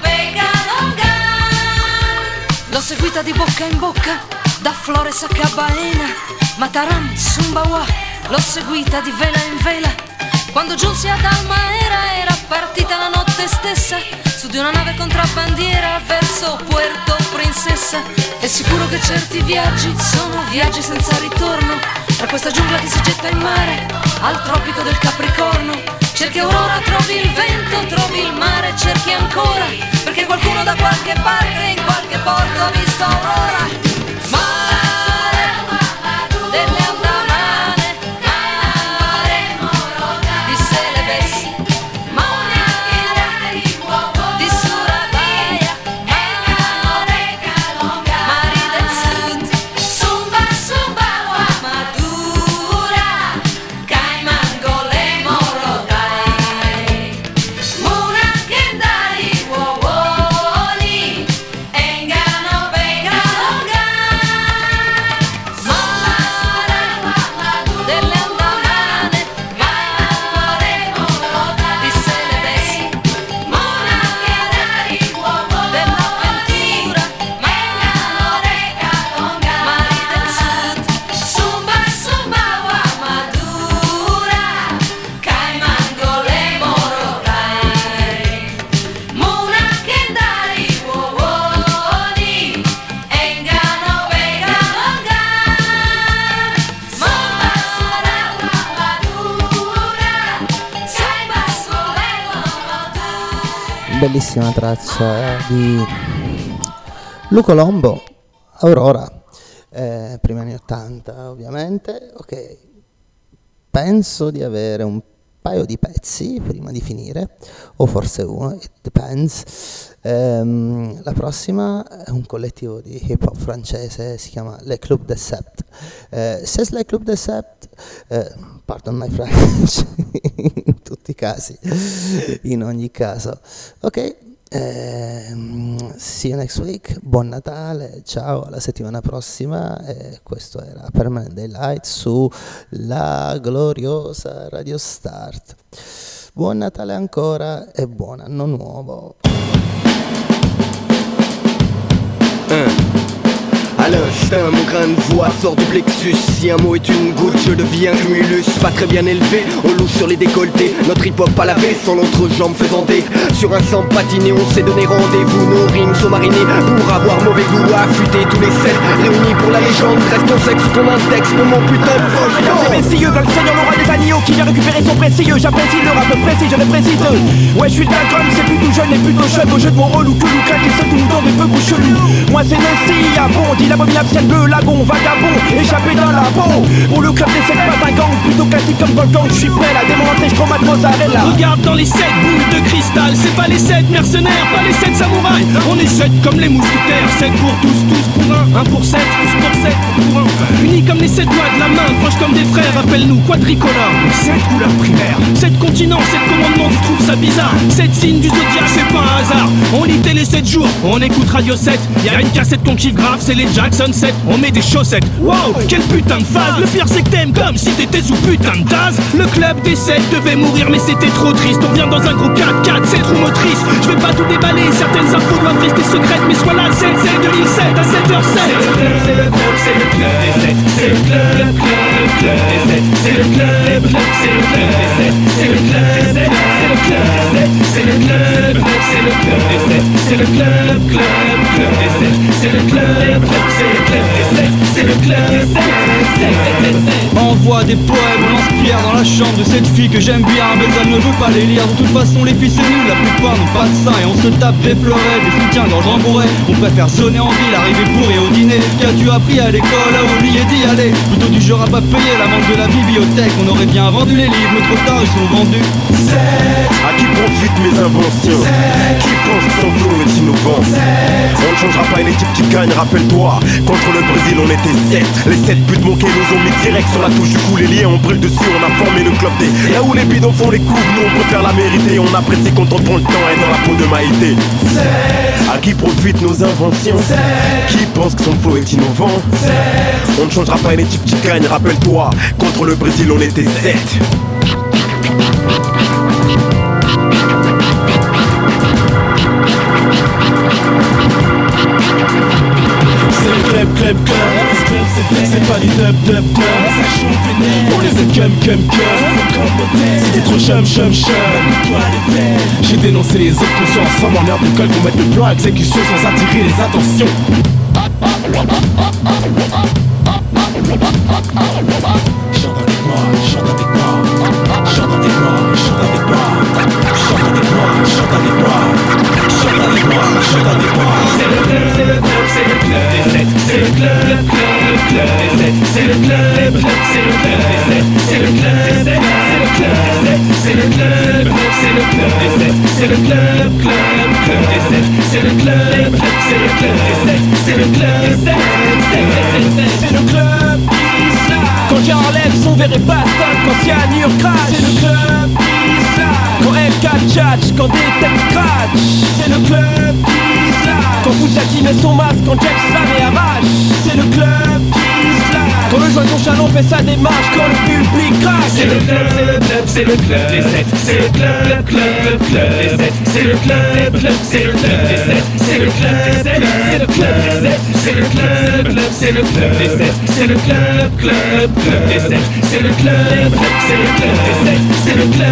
Pecadongan. L'ho seguita di bocca in bocca, da Flores a Cabana, Mataram, Sumbawa, l'ho seguita di vela in vela. Quando giunsi ad Almaera era partita la notte stessa, su di una nave contrabbandiera verso Puerto Princesa. È sicuro che certi viaggi sono viaggi senza ritorno, tra questa giungla che si getta in mare al tropico del Capricorno. Cerchi Aurora, trovi il vento, trovi il mare, cerchi ancora, perché qualcuno da qualche parte in qualche porto ha visto Aurora. Mare delle Andamane, mare di Celebes, mare di Surabaya, mare, mari del sud, Sumba, Sumbawa, Madura, Cayman, Gole, Morotai, Muna, Kendari, Wowoni, Engano, Pecadongan. Mare delle Andamane, mare di Celebes, mare dell'avventura, mare, mari del sud, Sumba, Sumbawa, Madura, Cayman, Gole, Morotai, Muna, Kendari, Wowoni, Engano, Pecadongan. Mare, Madura, Sumba, Sumbawa, Bellissima traccia di Luco Lombo, Aurora, eh, primi anni ottanta ovviamente. Ok, penso di avere un paio di pezzi prima di finire, o forse uno, it depends. Ehm, la prossima è un collettivo di hip hop francese, si chiama Le Club des Sept. Eh, says Le Club des Sept, eh, pardon my French, in tutti i casi, in ogni caso. Ok, ehm, see you next week, buon Natale, ciao, alla settimana prossima. E questo era Permanent Daylight su la gloriosa Radio Start. Buon Natale ancora e buon anno nuovo. Uh. À l'instinct, mon grain de voix sort du plexus. Si un mot est une goutte, je deviens cumulus. Pas très bien élevé, on louche sur les décolletés. Notre hip-hop à laver, sans l'entrejambe faisant des. Sur un sang patiné, on s'est donné rendez-vous. Nos rimes sont marinées pour avoir mauvais goût. Affûter tous les sept, réunis pour la légende. Reste ton sexe, ton index, pour mon putain de proche. C'est messieurs, dans le seigneur, l'aura des agneaux qui vient récupérer son précieux. J'apprécie le rap précis, je le précise. Ouais, je suis d'un comme c'est plutôt jeune et plutôt chef. Au jeu de mon rôle ou que nous claque et ceux qui nous donnent des peu chelus. Moi c'est Nessie, à bon, dit l'abominable ciel bleu, lagon, vagabond, échappé d'un labo. Pour le club des sept, pas un gang, plutôt classique comme Volcan. Je suis prêt à démonter, je chromate mozzarella. Regarde dans les sept boules de cristal, c'est pas les sept mercenaires, pas les sept samouraïs. On est sept comme les mousquetaires, sept pour tous, tous pour un, un pour sept, tous pour sept, pour un. Unis comme les sept doigts de la main, proches comme des frères, appelle-nous quadricolores. Sept couleurs primaires, sept continents, sept commandements, tu trouves ça bizarre. Sept signes du zodiaque, c'est pas un hasard. On lit télé sept jours, on écoute Radio sept. Y'a une cassette qu'on kiffe grave, c'est les Jackson sept. On met des chaussettes, waouh, quel putain de phase. Le pire c'est que t'aimes comme si t'étais sous putain de tasse. Le club des sept devait mourir mais c'était trop triste. On vient dans un gros quatre quatre, c'est trop motrice. Je vais pas tout déballer, certaines infos doivent rester secrètes. Mais sois là le sept sept deux mille sept à sept heures sept. C'est le club, c'est le club, c'est le club des sept. C'est le club, le club, le club des sept. C'est le club, le club, c'est le club des sept. C'est le club des sept, c'est le club des sept. C'est le club, le club, c'est le club des sept. C'est le club, le club, le club des sept. C'est le club, le club, c'est le club des sept. C'est le club des sept. Envoie des poèmes, on lance-pierre dans la chambre de cette fille que j'aime bien, mais elle ne veut pas les lire. De toute façon, les filles c'est nul, la plupart n'ont pas de sein et on se tape des fleurets, des soutiens-gorge rembourrés. On préfère sonner en ville, arriver bourré au dîner. Qu'as-tu appris à l'école, à oublier d'y aller? Plutôt du genre à pas payer la vente de la bibliothèque. On aurait bien vendu les livres, mais trop tard ils sont vendus. À qui profitent mes inventions? Qui pense que son flow est innovant? On ne changera pas une équipe qui gagne, rappelle-toi. Contre le Brésil on était sept. Les sept buts manqués nous ont mis direct sur la touche du coup. Les liens on brûle dessus, on a formé le club des. Là où les bidons font les coups, nous on préfère la mériter. On apprécie quand on prend le temps et dans la peau de Maïté. À qui profitent nos inventions? Qui pense que son flow est innovant? On ne changera pas une équipe qui gagne, rappelle-toi. Contre le Brésil on était sept. C'est le club, club, club. C'est pas du dub, dub, dub. On les aide cum, cum, cum. C'était trop chum, chum, chum. J'ai dénoncé les autres qu'on soit ensemble en heure d'école pour mettre le plan à exécution sans attirer les attentions. Chante avec moi, chante avec moi. Chante avec moi, chante avec moi. Chante avec moi, chante avec moi. Chante avec moi, chante avec moi. C'est le club, c'est le club, c'est le club des sept. C'est le club, le club, le club des sept. C'est le club, le club, c'est le club des sept. C'est le club des sept, c'est le club des sept. C'est le club, le club, c'est le club des sept. C'est le club, le club, le club des sept. C'est le club, le club, c'est le club des sept. C'est le club des sept, c'est le club qui slide. Quand j'enlève son verre et bastard, quand cyanure crash. C'est le club qui slide. Quand F quatre tchatch, quand des têtes scratch. C'est le club qui slide. Quand Fujaki met son masque, quand Jack slam et arrache. C'est le club qui slide. Quand le joint chaland fait sa démarche, quand le public crache. C'est le club, c'est le club, c'est le club des sept. C'est le club, le club, le club des sept. C'est le club, le club, c'est le club des sept. C'est le club des sept, c'est le club des sept. C'est le club, le club, c'est le club des sept. C'est le club, le club, le club des sept. C'est le club, le club, c'est le club des sept. C'est le club,